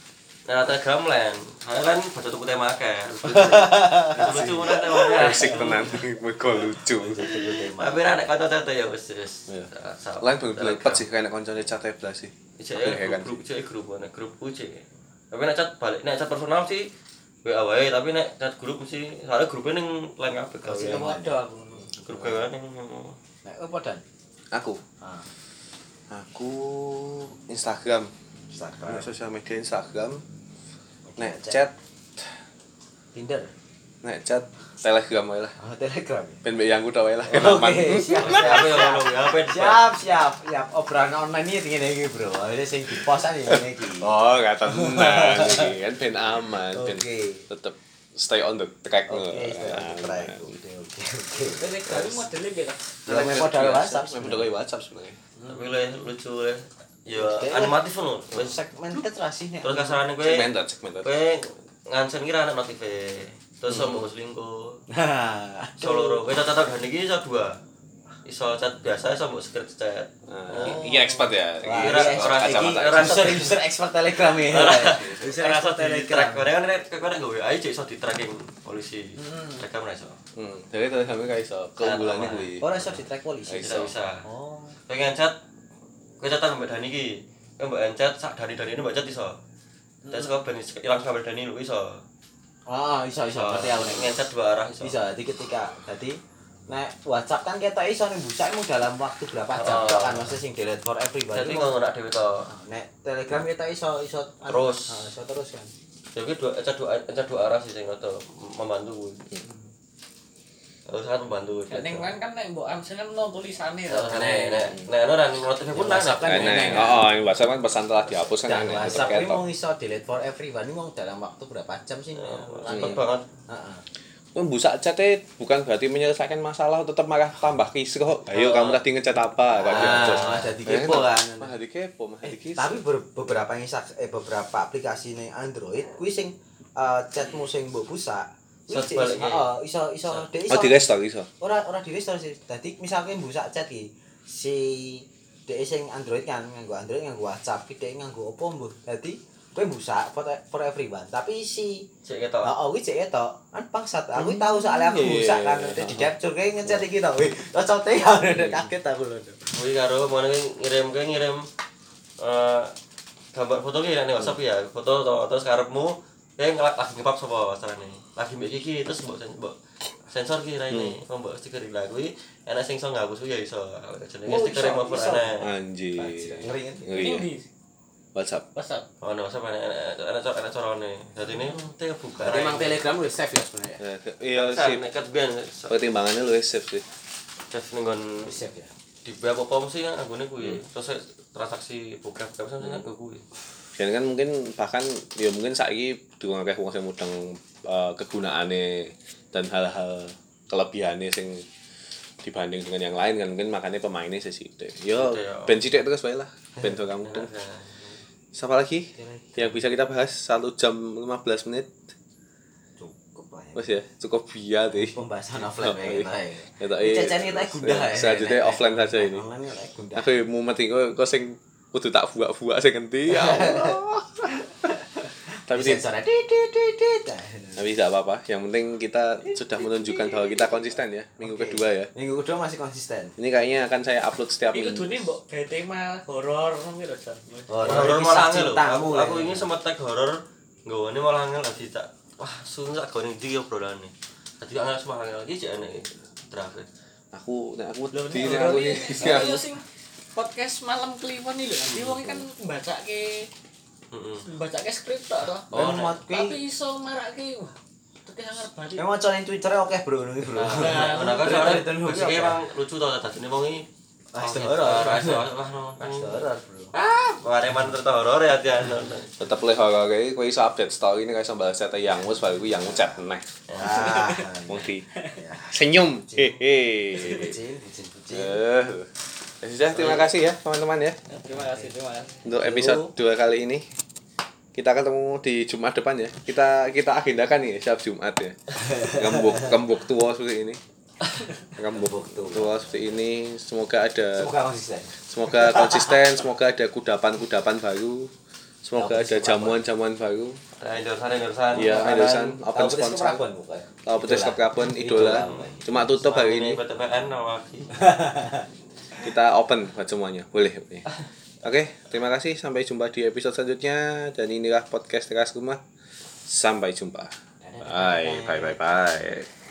Nah, Telegram lain. Saya kan baca tuku tema akeh. Lucu mana temanya. Asik tenan, mergo lucu. Tapi nek kanca-kanca ya wis wis. Lain bener-bener pet sih kayak koncone chat blas sih. Ijek grup ijek grup ana grupku ijek. Tapi nek chat balik nek chat personal sih W A wae, tapi nek chat grup mesti soalnya grupnya ning lain kabeh gawe. Sing ada aku. Grup gawean ning Nek apa dan? Aku, Ah, aku Instagram, Instagram, sosial media Instagram. Nek chat, Tinder. nek chat Telegram wae lah. Oh, Telegram. Ben mbek yang kudu wae lah. Oke, siap. apa ya ngono ya apa Siap, siap. Siap. Obrolan online iki ngene iki, Bro. Ini sing di-post aja ngene iki. Oh, gak tenang iki kan ben aman, ben Oke. tetep stay on the track. Oke, stay on the track. Oke, oke, oke. Telegram modelnya beda. Ya memang dari WhatsApp. Memang dari WhatsApp sebenarnya. tapi le lucu le. Ya animatif ngono. Wis Segmented rasine. terus kasarane kowe Segmented, segmented. kowe ngancen kira anak notif terus sama selingkuh Nah, solo kowe tata dan iki iso dua iso chat biasa iso mbok script chat. Nah, iki expert ya. Wah, Iki Kira ini orang expert. iki, Iki orang user user expert Telegram ya. User rasa expert di track Telegram. karena kan kowe nek nggawe A I iso di tracking polisi. Tracker ora iso. Hmm, jadi Telegram kayak iso keunggulannya kuwi. Ora iso di track polisi. Bisa bisa. Oh. Pengen chat kowe chatan mbak Dani iki. Kowe mbak chat sak Dani-Dani ini mbak chat iso. Terus kok ben ilang kabel Dani lu iso. Ah, iso iso ngerti aku nek. Ngecat dua arah iso. Bisa, jadi ketika tadi nek WhatsApp kan kita iso ning busakmu dalam waktu berapa jam Oh. tok kan maksudnya sing delete for everybody. Jadi ngono nak dhewe to. Nek Telegram kita iso iso Terus. Ah, iso terus kan. Jadi dua chat dua chat dua arah sih sing ngono membantu. Harus sangat membantu. Ning kan kan nek mbok amsen kan ono tulisane to. Nek nek nek ora ning notif pun nang WhatsApp kan Nah, enak. nah, oh, ini WhatsApp kan pesan telah dihapus kan Dan aneh, tetep WhatsApp ini ketok. mau iso delete for everyone ini mau dalam waktu berapa jam sih? cepet banget. Heeh. Pun busak chat bukan berarti menyelesaikan masalah, tetap malah tambah kisruh. Ayo kamu tadi ngechat apa? Kok Ah, dihapus. malah jadi kepo kan. Malah di kepo, malah Eh, di kisruh. tapi ber- beberapa insak eh beberapa aplikasi ning Android kuwi sing eh, chatmu sing mbok busak kuwi Iso cek- balik, heeh, iso iso dhek iso Oh, di restore iso. ora ora di restore sih. Dadi misalnya busak chat iki si dhek sing Android kan nganggo Android nganggo WhatsApp, ki dhek nganggo opo mbuh. Dadi kowe busak for, for everyone, tapi si Cek ketok. heeh kuwi cek etok. Kan bangsat. Aku tahu soalnya aku Iya. busak kan di capture kayak ngechat iki to. Wih, cocote ya kaget aku lho. Kuwi karo mana ngirim kowe ngirim eh gambar foto ki nek WhatsApp ya, foto to terus karepmu kowe ngelak lagi ngepap sapa carane. Lagi mbek iki terus mbok sen- mbok sensor ki raine, kok mbok stiker iki lah kuwi enak sing iso ngapus kuwi ya iso. Jenenge Oh, stiker iso, remover iso. enak. Anjir. Ngeri kan? Ngeri ya. Ini WhatsApp. WhatsApp. Oh, no, WhatsApp enak enak enak enak carane. Dadi ini teh buka. Berarti emang Telegram udah save ya sebenarnya. Ya, Iya sih. sih. Nek ket ben Pertimbangannya lu safe sih. save ning nggon Udah save ya. di web apa mesti kan anggone kuwi. Terus transaksi buka buka sampe nang kuwi. Dan kan mungkin bahkan ya mungkin saiki durung akeh wong sing mudeng uh, kegunaane dan hal-hal kelebihannya sing dibanding dengan yang lain kan mungkin makanya pemainnya sesidik. Yo, Sithik, ya. ben sithik terus bae lah. Ben do kamu mudeng. Siapa lagi yang bisa kita bahas satu jam lima belas menit? Cukup lah ya. Wes ya, cukup biar deh. Pembahasan offline ya kita ya. Kita Cecen kita gundah ya. Selanjutnya offline saja ini. Offline kita gundah. Aku mau mati kok kok sing kudu tak buak-buak sing ngendi ya Allah. Tapi Tapi sensor dit dit dit dit. tapi tidak apa-apa. Yang penting kita sudah menunjukkan bahwa kita konsisten ya. Minggu Oke. kedua ya. Minggu kedua masih konsisten. Ini kayaknya akan saya upload setiap Iki minggu. kudune mbok gawe tema horor ngono lho, Jan. Horor kisah malah angel lho. cintamu, Aku, aku ya. ini sempat tag horor nggawane malah angel lagi tak. Wah, sungguh tak gone ndi obrolane. Dadi angel semua angel iki jek enek terakhir. Aku nek aku Lho di ini nek aku horor nih. iki yo sing podcast malam kliwon iki lho. Nanti wong kan mbacake Heeh. mbacake skrip tok to. Oh, Memang Tapi kuwi iso marake wah. Terus angel bali. memang conin Twitter oke bro ngono iki, bro. Nah, Nah, kan Twitter- soalnya Twitter hobi basicnya apa? emang lucu tau dadine wong iki. Ah, itu horor. Ah, itu horor. Wah, no. Horor, bro. Ah, pareman terus horor ya atian. Tetep le horor kayak kowe iso update story ini kayak iso balas chat yang mus baru kuwi yang chat neh. Ah. Wong di Ya. senyum. Hehe. Bucin, bucin, bucin. Eh. Ya sudah, terima kasih ya teman-teman ya. Terima kasih, terima kasih. Untuk episode dua kali ini kita ketemu di Jumat depan ya. Kita kita agendakan nih setiap Jumat ya. Gembok gembok tua seperti ini. Gembok tua seperti ini. Semoga ada Semoga konsisten. semoga konsisten, semoga ada kudapan-kudapan baru. Semoga ada jamuan-jamuan baru. Ada endorsan endorsan. Iya, endorsan, open Tahu podcast sponsor. keberapaan, bukan? Tahu petis Idola. Kapkapon Idola. idola. Cuma tutup hari ini. P T P N lagi. Kita open buat semuanya. Boleh, boleh. Oke, terima kasih. Sampai jumpa di episode selanjutnya. Dan inilah podcast Teras Rumah. Sampai jumpa. Bye, bye, bye, bye.